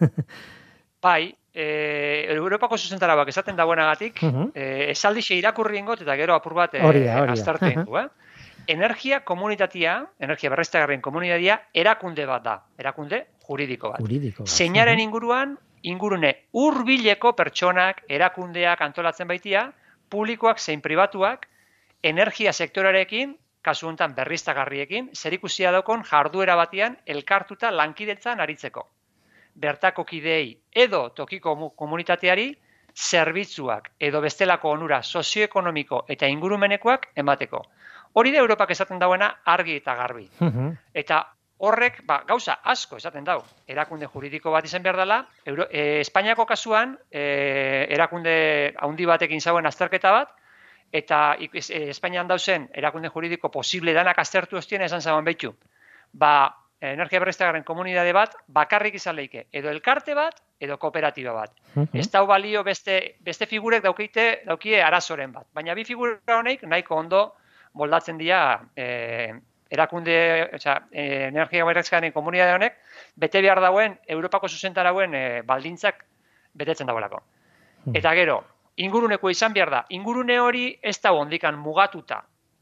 Bai, e, Europako zuzentarabak esaten dagoenagatik, uh-huh. e, esaldixe irakurri ingot, eta gero apur bat e, aztarte ingo, eh? Energia komunitatea, energia berriztagarrien komunitatea, erakunde bat da, erakunde juridiko bat. Juridiko bat. Zeinaren inguruan, ingurune hurbileko pertsonak, erakundeak antolatzen baitia, publikoak zein pribatuak, energia sektorarekin, kasu honetan berriztagarriekin, zerikusia daukon jarduera batean elkartuta lankidetzan aritzeko. Bertako kideei edo tokiko komunitateari, zerbitzuak edo bestelako onura sozioekonomiko eta ingurumenekoak emateko. Hori da Europak esaten dauena argi eta garbi. Uh-huh. Eta horrek ba, gauza asko esaten dau. Erakunde juridiko bat izan behar dela. Euro, e, Espainiako kasuan e, erakunde handi batekin zauen azterketa bat, eta e, Espainian dauzen erakunde juridiko posible danak aztertu ostien esan zauen behitu. Ba, energia berriztagarrien komunidade bat bakarrik izan leike. Edo elkarte bat, edo kooperatiba bat. Uh-huh. Ez dau balio beste, beste figurek daukeite, daukie arazoren bat. Baina bi figura honek nahiko ondo moldatzen dira eh, erakunde, oza, eh, energia berriztagarrien komunidade honek, bete behar dauen, Europako zuzentarauen eh, baldintzak betetzen dagoelako. Hmm. Eta gero, inguruneko izan behar da, ingurune hori ez da ondikan mugatuta.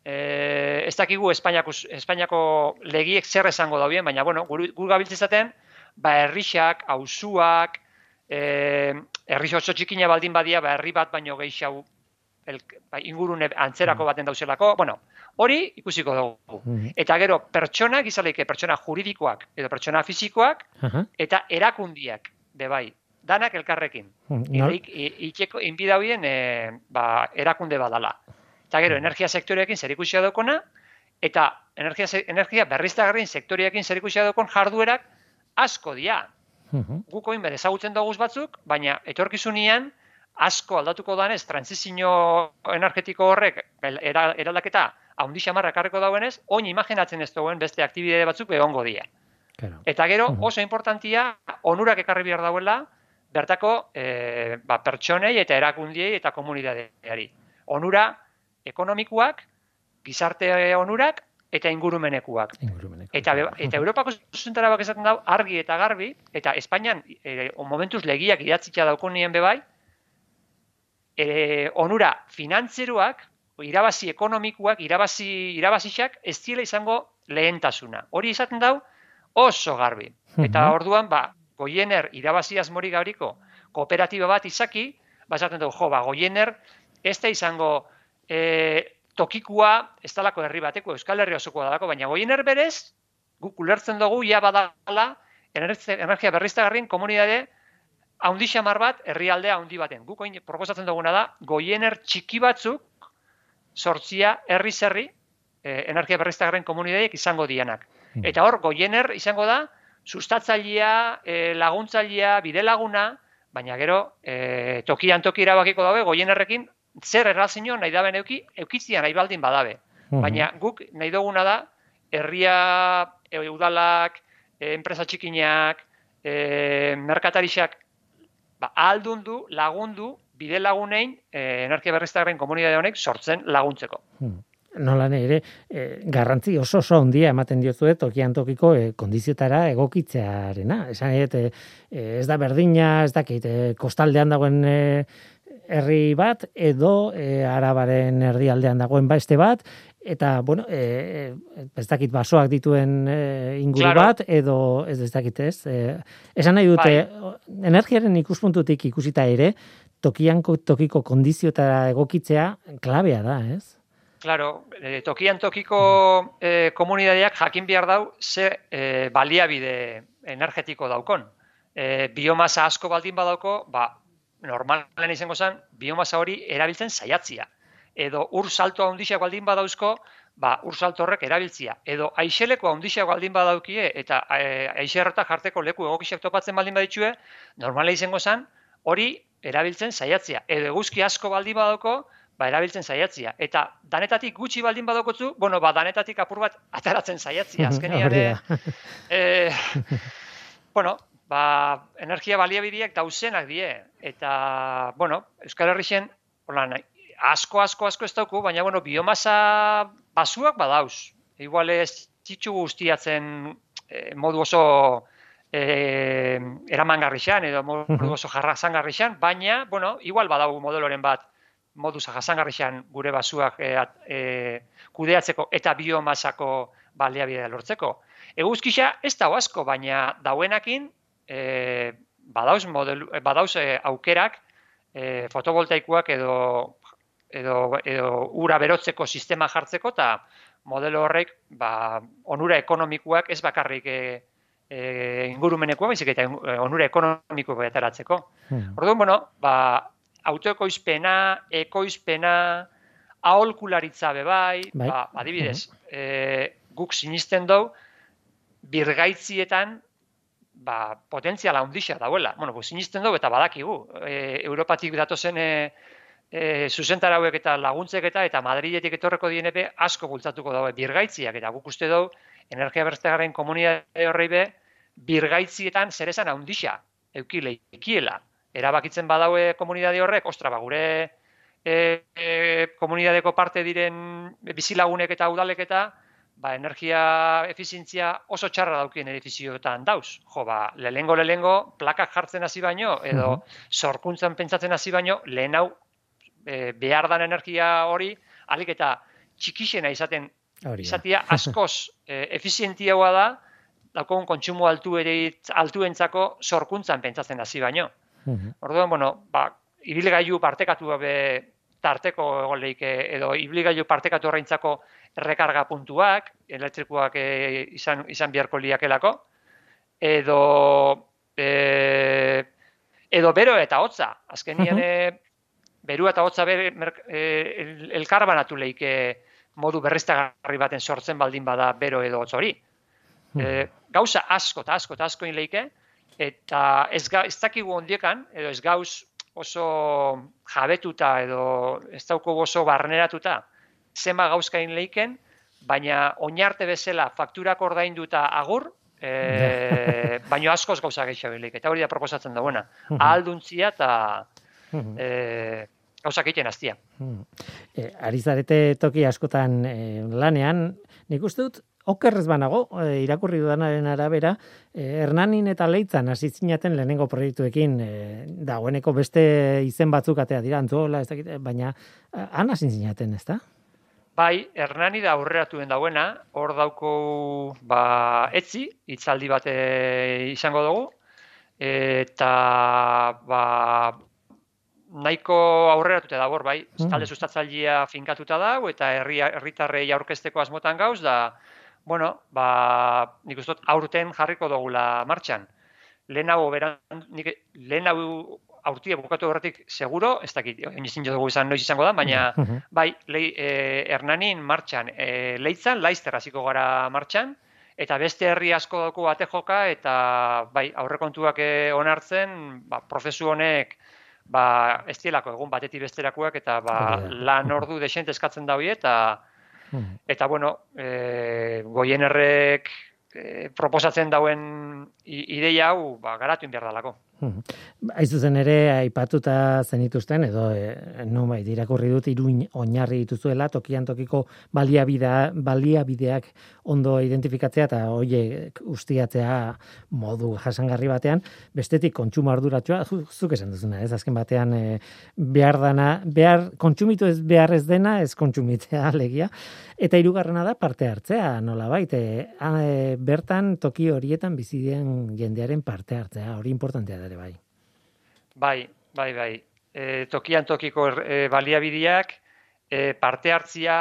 Eh, ez dakigu Espainiako, Espainiako legiek zer esango daubien, baina, bueno, gur gabiltzezaten, ba, herrixak, auzuak, eh, herri oso txikina baldin badia, ba, herri bat baino gehiago, El, ba, ingurune antzerako baten dauzelako, bueno, hori ikusiko dugu. Uh-huh. Eta gero, pertsonak, izaleike pertsona juridikoak edo pertsona fisikoak, uh-huh. eta erakundiak, bebai, danak elkarrekin. Uh-huh. No. Itxeko, inbidauien, e, ba, erakunde badala. Eta gero, uh-huh. energia sektoreekin zerikusia daukona, eta energia, energia berriztagarrien sektoreekin zerikusia daukon jarduerak asko dia. Uh-huh. Guko inber ezagutzen dugu batzuk, baina etorkizunean, asko aldatuko danez, transizio energetiko horrek eraldaketa haundi xamarra ekarriko dauenez, oin imaginatzen ez duen beste aktibidade batzuk egongo dira. Claro. Eta gero oso importantia onurak ekarri behar dauela bertako e, ba, pertsonei eta erakundiei eta komunidadeari. Onura ekonomikoak, gizarte onurak eta ingurumenekuak. Ingurumenekuak. Eta, eta Europako zuzentarauak esaten dau argi eta garbi, eta Espainian e, momentuz legiak idatzitza daukonien bebai, e, onura finantzeruak, irabazi ekonomikoak, irabazi, irabazixak ez diela izango lehentasuna. Hori izaten dau oso garbi. Eta orduan, ba, Goiener irabazi asmori gauriko kooperatiba bat izaki, ba, esaten dugu, jo, ba, Goiener ez da izango e, tokikua, ez dalako herri bateko, Euskal Herri osokoa dalako, baina Goiener berez, guk ulertzen dugu, ja badala, energia berriztagarrien komunidade haundi xamar bat, herrialde haundi baten. Guk oin proposatzen duguna da, Goiener txiki batzuk, sortzia, herri zerri, e, energia berriztagarrien komunidaiek izango dianak. Eta hor, Goiener izango da, sustatzailea, e, laguntzailea, bide-laguna, baina gero, e, tokian toki erabakiko dabe, Goienerrekin, zer errazio nahi daben euki, eukitzian nahi baldin badabe. Baina guk nahi duguna da, herria, e, udalak, e, enpresa txikinak, e, merkatarixak, ba, ahaldundu, lagundu, bide lagunein, e, energia berriztagarrien komunidade honek sortzen laguntzeko. Nola ere, e, garrantzi oso oso handia ematen diozuet tokian tokiko e, kondiziotara egokitzearena. Esan e, ez da berdina, ez dakit, e, kostaldean dagoen e, herri bat, edo e, Arabaren erdialdean dagoen beste bat, eta, bueno, e, ez dakit basoak dituen e, inguru claro. bat, edo ez ez dakit ez. E, esan nahi dute, bai. Energiaren ikuspuntutik ikusita ere, tokian tokiko kondiziotara egokitzea klabea da, ez? Claro, eh, tokian tokiko eh, komunidadeak jakin behar dau ze eh, baliabide energetiko daukon. Eh, biomasa asko baldin badauko, ba, normalen izango zen, biomasa hori erabiltzen saiatzia. Edo ur salto handixak baldin badauzko, ba, ur salto horrek erabiltzia. Edo aixeleko handixak baldin badaukie, eta e, aixerrotak jarteko leku egokixak topatzen baldin baditxue, normalen izango zen, hori erabiltzen saiatzia. Edo eguzki asko baldin badauko, ba, erabiltzen saiatzia. Eta danetatik gutxi baldin badokotzu, bueno, ba, danetatik apur bat ataratzen saiatzia. Azkenian, e, bueno, ba, energia baliabideak dauzenak die. Eta, bueno, Euskal Herrixen, holan, asko, asko, asko ez dauku, baina, bueno, biomasa basuak badauz. Igual ez txitsu guztiatzen e, modu oso e, eramangarrixan, edo modu oso jarrazangarrixan, baina, bueno, igual badau modeloren bat, modu jasangarrixan gure basuak e, e, kudeatzeko eta biomasako baliabidea lortzeko. Eguzkixa ez dago asko, baina dauenakin e, badauz, modelu, badauz e, aukerak e, fotovoltaikoak edo, edo, edo ura berotzeko sistema jartzeko eta modelo horrek ba, onura ekonomikoak ez bakarrik e, e, ingurumenekoa, baizik eta onura ekonomikoak ateratzeko. Hmm. Orduan, bueno, ba, autoekoizpena, ekoizpena, aholkularitza bebai, bai. Ba, adibidez, uh-huh. e, guk sinisten dugu, birgaitzietan ba, potentziala handixa dauela. Bueno, sinisten dugu eta badakigu. E, Europatik datozen e, e, zuzentarauek eta laguntzek eta eta Madridetik etorreko dienepe asko bultzatuko daue birgaitziak. Eta guk uste dugu, energia berriztagarrien komunitate horrei be, birgaitzietan zer esan handixa eukile ikiela. Erabakitzen badaue komunidade horrek, ostra, ba, gure e, e, komunidadeko parte diren bizilagunek eta udalek eta ba, energia efizientzia oso txarra daukien edifizioetan dauz. Jo, ba, lehengo lehengo plakak jartzen hasi baino, edo uh-huh. sorkuntzan pentsatzen hasi baino, lehen hau e, behar dan energia hori, alik eta txikixena izaten, izatia askoz e, efizientiagoa da, daukogun kontsumo altu ere, altuentzako sorkuntzan pentsatzen hasi baino. Uh-huh. Orduan, bueno, ba, ibilgailu partekatu gabe tarteko egon leike, edo ibilgailu partekatu horreintzako rekarga puntuak, elektrikoak e, izan, izan biharko liakelako, edo, e, edo bero eta hotza. Azkenian, uh-huh. beru eta hotza ber, mer, e, elkar banatu leike modu berriztagarri baten sortzen baldin bada bero edo hotz hori. Uh-huh. E, gauza asko eta asko eta asko leike, eta ez, ga, ez dakigu ondiekan, edo ez gauz oso jabetuta edo ez dauko oso barneratuta zenba gauzkain leiken, baina oinarte bezala fakturak ordainduta agur, E, baino askoz gauza gehiago bilik, eta hori da proposatzen dagoena. Ahalduntzia eta e, gauza egiten hastia. E, ari zarete toki askotan e, lanean, nik uste dut, okerrez banago, e, irakurri dudanaren arabera, e, Hernanin eta Leitzan hasi zinaten lehenengo proiektuekin, e, dagoeneko beste izen batzuk atea dira, Antzuola, ez dakit, baina han hasi zinaten, ez da? Bai, Hernani da aurreratuen dauena, hor dauko ba, etzi, hitzaldi bat izango dugu, eta ba, nahiko aurreratute dago, bai, mm. talde sustatzailea finkatuta dago, eta herri, herritarrei aurkezteko asmotan gauz, da, bueno, ba, nik uste dut aurten jarriko dugula martxan. Lehenago, beran, nik, lehenago aurtie bukatu horretik seguro, ez dakit, ezin dugu izan noiz izango da, baina bai, lei, e, Hernanin martxan, e, Leitzan, Laizter hasiko gara martxan, eta beste herri asko dauko ate joka, eta bai, aurrekontuak onartzen, ba, prozesu honek ba, ez dielako egun batetik besterakoak, eta ba, lan ordu desente eskatzen da hori, eta, eta bueno, e, Goienerrek e, proposatzen dauen ideia hau ba, garatu behar dalako. Aizu zen ere, aipatuta zenituzten, edo e, nonbait irakurri dut iruin oinarri dituzuela, tokian tokiko baliabidea, baliabideak ondo identifikatzea eta horiek ustiatzea modu jasangarri batean, bestetik kontsumo arduratsua, zuk esan duzuna, ez azken batean e, behar dana, behar, kontsumitu ez behar ez dena, ez kontsumitzea alegia, eta hirugarrena da parte hartzea, nolabait, e, e, bertan toki horietan bizi den jendearen parte hartzea, hori importantea da ere bai. Bai, bai, bai. E, tokian tokiko e, baliabideak, e, parte hartzia,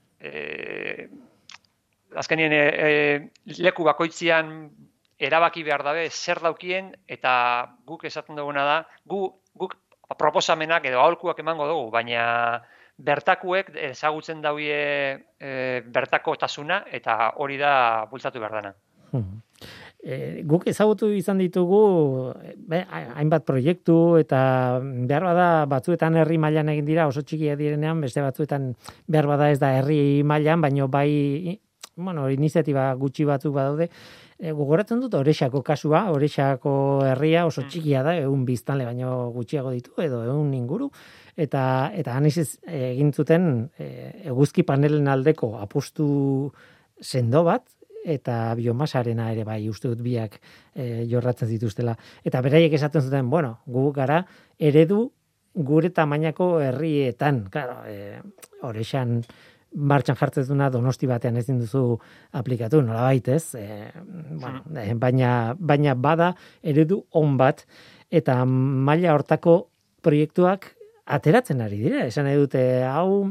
e, azkenien e, e, leku bakoitzian erabaki behar dabe zer daukien, eta guk esaten duguna da, gu, guk proposamenak edo aholkuak emango dugu, baina bertakuek ezagutzen dauie e, bertako tasuna, eta hori da bultzatu behar dana. Hmm. E, guk ezagutu izan ditugu be, hainbat proiektu eta behar bada batzuetan herri mailan egin dira oso txikia direnean, beste batzuetan behar bada ez da herri mailan, baino bai bueno, iniziatiba gutxi batzuk badaude. E, gogoratzen dut Orexako kasua, Orexako herria oso txikia da, ehun biztanle baino gutxiago ditu edo ehun inguru, eta eta han egin zuten e, eguzki panelen aldeko apustu sendo bat, eta biomasarena ere bai uste dut biak e, jorratzen zituztela. Eta beraiek esaten zuten, bueno, gu gara eredu gure tamainako herrietan, claro, e, Orexan martxan jartzen duna Donosti batean ezin duzu aplikatu, nolabait ez, e, bueno, e, baina, baina bada eredu on bat, eta maila hortako proiektuak ateratzen ari dira, esan nahi dute, hau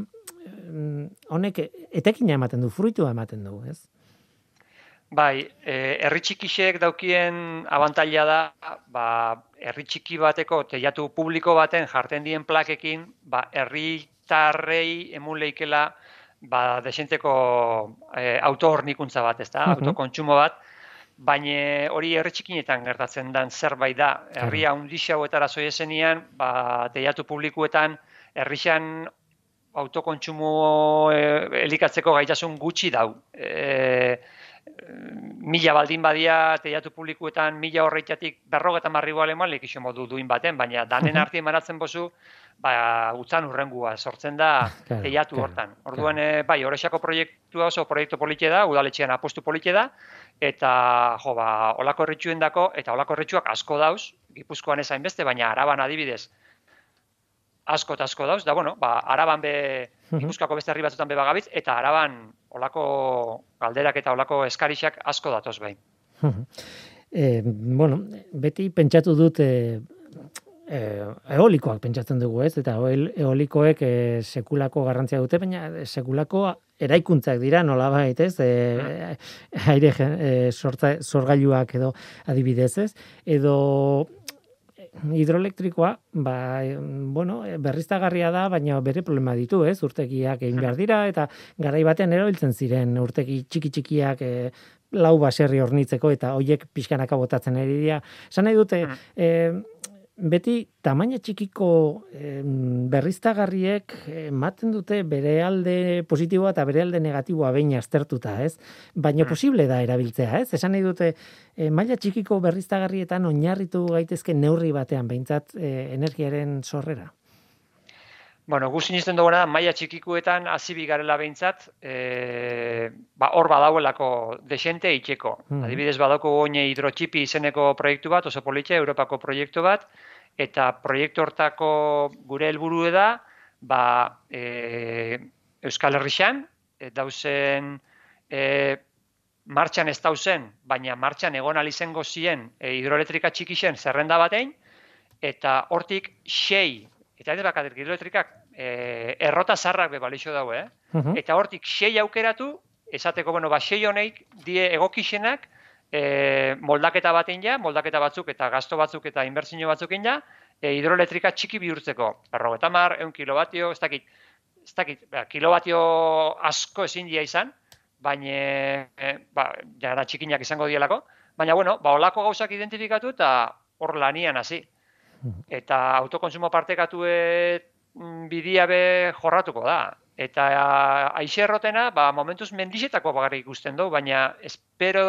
honek etekina ematen du, fruitua ematen du, ez? Bai, herri txikixek daukien abantaila da, ba, herri txiki bateko teiatu publiko baten jarten dien plakekin, ba, herritarrei emun leikela ba, desenteko e, autohornikuntza bat, ez da, uh-huh. autokontsumo bat, baina hori herri txikinetan gertatzen den zerbait da. Herria hundixauetara zoiezenian, ba, teiatu publikuetan, herrixan autokontsumo e, elikatzeko gaitasun gutxi dau. E, mila baldin badia teiatu publikuetan mila horreitatik berrogeta marrigoa lemalik iso modu duin baten, baina danen artien manatzen bozu, ba, utzan urrengua sortzen da teiatu hortan. Orduan, e, bai, Orexako proiektua oso proiektu polite da, udaletxean apostu polite da, eta jo, ba, olako herritxuen dako, eta olako herritxuak asko dauz, Gipuzkoan ez hainbeste, baina Araban adibidez, asko eta asko dauz, da, bueno, ba, Araban be, Gipuzkoako beste herri batzutan be bagabitz, eta Araban olako galderak eta olako eskarixak asko datoz behin. e, bueno, beti pentsatu dut e, e, eolikoak pentsatzen dugu, ez? Eta eolikoek e, sekulako garrantzia dute, baina sekulako eraikuntzak dira, nolabait, ez? E, aire e, sortza, sorgailuak edo adibidez, ez? Edo hidroelektrikoa, ba, bueno, berriztagarria da, baina bere problema ditu, ez? Urtegiak egin behar dira, eta garai batean erabiltzen ziren urtegi txiki-txikiak e, lau baserri hornitzeko, eta hoiek pixkanaka botatzen ari dira. Esan nahi dute, e, beti tamaina txikiko em, berriztagarriek ematen dute bere alde positiboa eta bere alde negatiboa behin aztertuta, ez? Baina posible da erabiltzea, ez? Esan nahi dute e, maila txikiko berriztagarrietan oinarritu gaitezke neurri batean behintzat e, energiaren sorrera. Bueno, gu sinisten duguna, maila txikikuetan hasi bigarela behintzat, e, ba, hor badauelako desente itxeko. Mm. Adibidez, badauko oine hidrotxipi izeneko proiektu bat, oso politxe, Europako proiektu bat, eta proiektu hortako gure helburu da, ba, e, Euskal Herrixan, e, dauzen, e, martxan ez dauzen, baina martxan egon alizengo zien e, hidroelektrika txikixen zerrenda batein, eta hortik sei, eta ez bakatik hidroelektrikak e, errota zarrak be balixo daue, eh? Uh-huh. Eta hortik sei aukeratu, esateko, bueno, ba, sei honeik die egokixenak e, moldaketa batein ja, moldaketa batzuk eta gasto batzuk eta inbertsio batzukin ja, e, hidroelektrika txiki bihurtzeko. Berrogeita hamar, ehun kilovatio, ez dakit, ez dakit, ba, kilovatio asko ezin dia izan, baina, e, ba, jara txikinak izango dielako, baina, bueno, ba, olako gauzak identifikatu eta hor lanian hasi. Eta autokonsumo partekatue bidia be jorratuko da. Eta aixe errotena, ba, momentuz mendixetako bagarrik ikusten dugu, baina espero,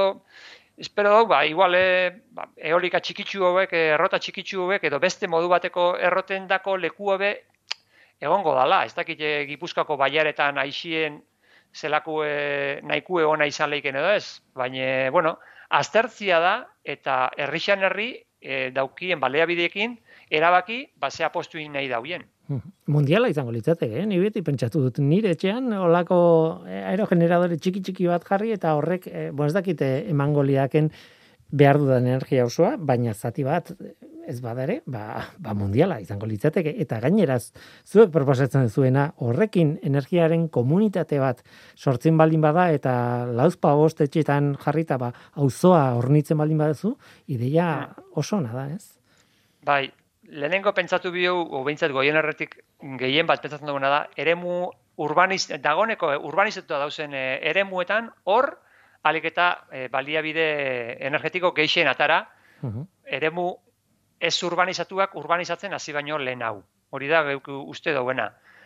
espero dugu, ba, igual, e, ba, eolika txikitsu hauek, errota txikitsu hauek, edo beste modu bateko errotendako leku hobe egongo dala. Ez dakit Gipuzkoako baiaretan aixien zelako e, nahikue ona izan leiken edo ez. Baina, bueno, aztertzia da, eta herrixan herri, E, daukien baleabideekin erabaki base apostu nahi dauien. Mundiala izango litzateke, eh? Ni beti pentsatu dut nire etxean olako aerogeneradore txiki txiki bat jarri eta horrek, eh, bueno, ez dakite emango liaken behar dudan energia osoa, baina zati bat ez badare, ba, ba mundiala izango litzateke eta gaineraz zuek proposatzen zuena horrekin energiaren komunitate bat sortzen baldin bada eta lauzpa bost etxetan jarrita ba auzoa hornitzen baldin baduzu, ideia oso ona da, ez? Bai, lehenengo pentsatu bihu, o behintzat goien erretik gehien bat pentsatzen duguna da, eremu urbaniz, dagoneko urbanizatua dauzen e, eremuetan hor alik eta e, baliabide energetiko gehien atara, uh-huh. eremu ez urbanizatuak urbanizatzen hasi baino lehen hau. Hori da geuk uste dauena.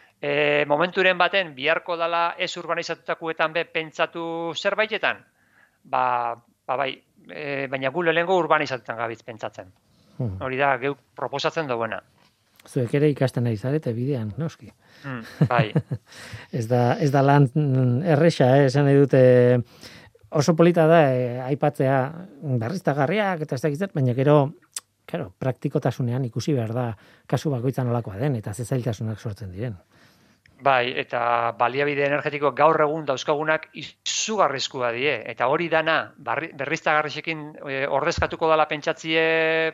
E, momenturen baten biharko dala ez urbanizatutakuetan be pentsatu zerbaitetan, ba, ba bai, e, baina gu lehengo urbanizatutan gabiz pentsatzen. Hmm. Hori da geuk proposatzen dauena. Zuek ere ikasten nahi zarete bidean, noski. Hmm, bai. ez da, ez da lan erresa, eh? Esan nahi dute oso polita da eh, aipatzea berriztagarriak eta ez dakizet, baina gero Claro, praktikotasunean ikusi behar da kasu bakoitzan olakoa den eta ze zailtasunak sortzen diren. Bai, eta baliabide energetiko gaur egun dauzkagunak izugarrizkoa die eta hori dana berriztagarriekin e, ordezkatuko dela pentsatzie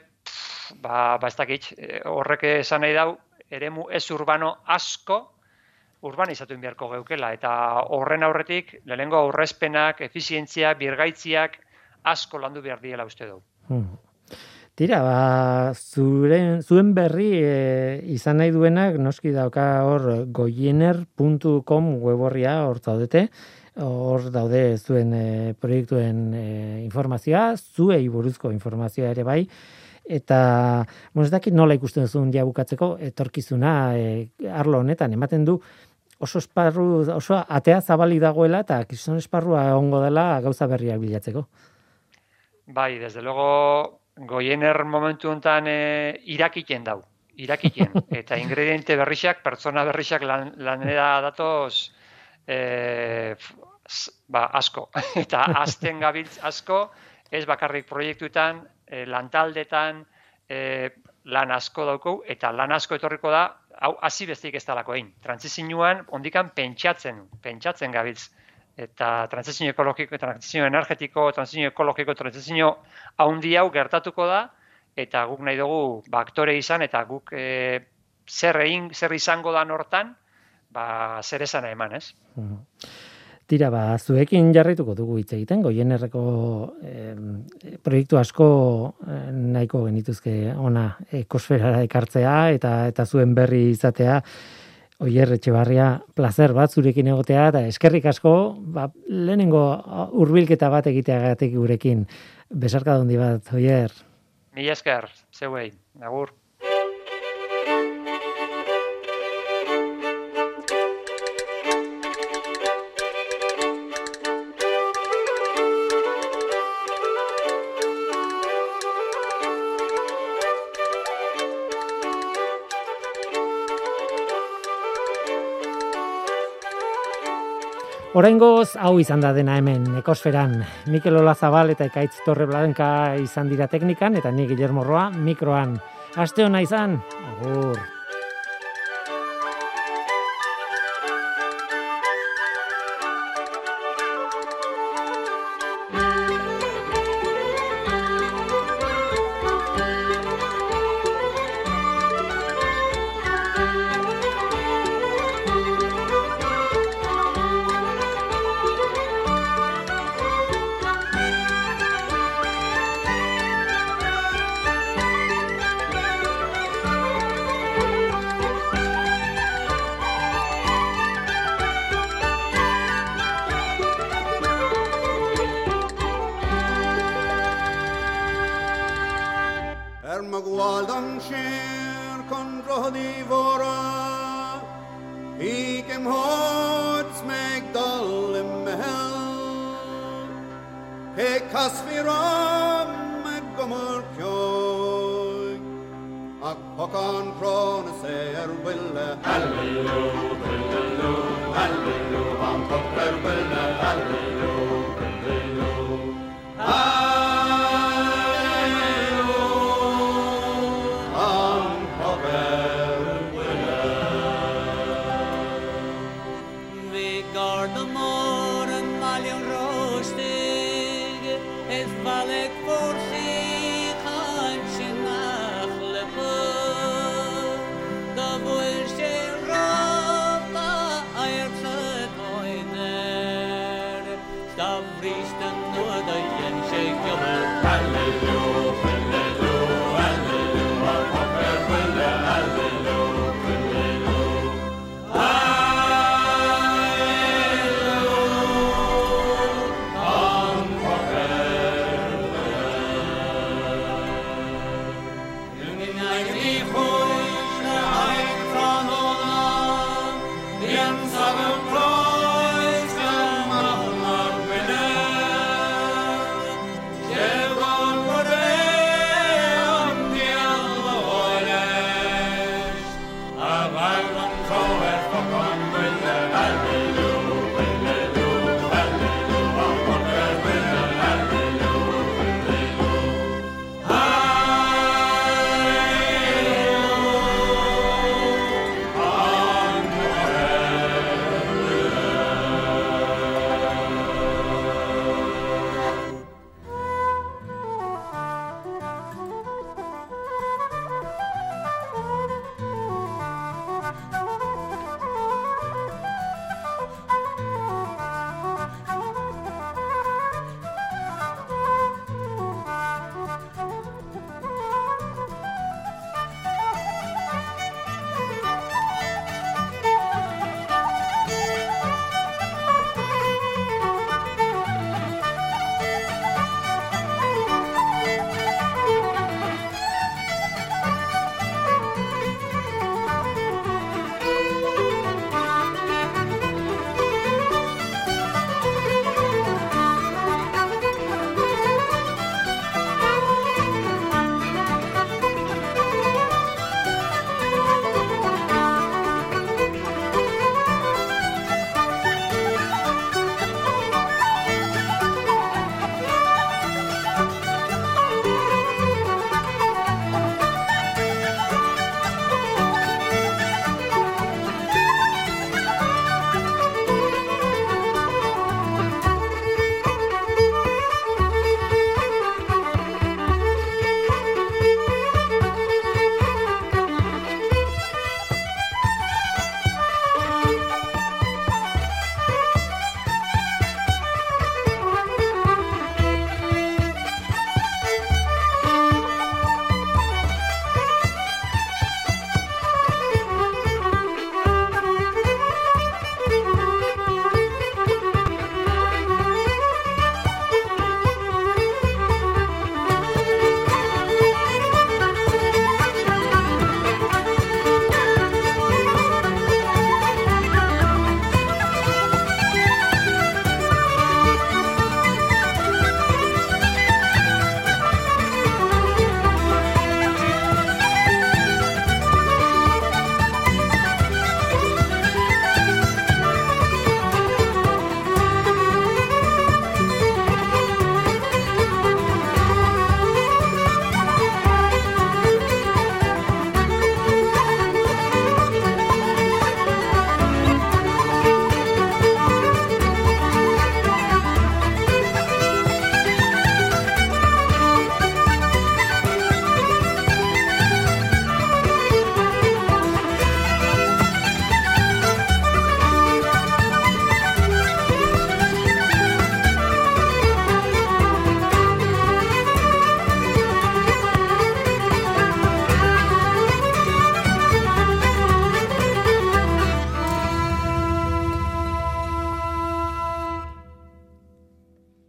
pff, ba, ba ez dakit, horrek esan nahi dau eremu ez urbano asko urbanizatu beharko geukela eta horren aurretik lehenengo aurrezpenak, efizientzia, birgaitziak asko landu behar diela uste du. Hmm. Tira, ba, zuren, zuen berri e, izan nahi duenak, noski dauka hor goiener puntu com weborria hor zaudete, hor daude zuen e, proiektuen e, informazioa, zuei buruzko informazioa ere bai, eta, bueno, ez dakit nola ikusten zuen ja bukatzeko, etorkizuna e, arlo honetan, ematen du oso esparru, oso atea zabali dagoela, eta gizon esparrua egongo dela gauza berriak bilatzeko. Bai, desde luego Goiener momentu honetan e, irakiten dau, irakiten. Eta ingrediente berrixak, pertsona berrixak lan, lanera datoz e, ba, asko. Eta azten gabiltz asko, ez bakarrik proiektuetan, e, lantaldetan, e, lan asko daukou, eta lan asko etorriko da, hau hasi besteik ez dalako egin. Trantsizioan, ondikan pentsatzen, pentsatzen gabiltz. Eta trantsizio ekologiko, trantsizio energetiko, trantsizio ekologiko, trantsizio haundi hau gertatuko da, eta guk nahi dugu ba, aktore izan, eta guk e, zer egin, zer izango da hortan, ba, zer esana eman, ez? Tira, ba, zuekin jarraituko dugu hitz egiten, Goienerreko eh, proiektu asko eh, nahiko genituzke ona ekosferara ekartzea, eta eta zuen berri izatea, Oier Etxebarria, placer bat zurekin egotea, eta eskerrik asko, ba, lehenengo hurbilketa bat egiteagatik gurekin. Besarka handi bat, Oier. Mila esker, zeuei. Agur. Oraingoz hau izan da dena hemen Ekosferan. Mikel Olazabal eta Ekaitz Torreblanka izan dira teknikan eta ni Guillermo Roa mikroan. Aste ona izan. Agur. Het val ik voor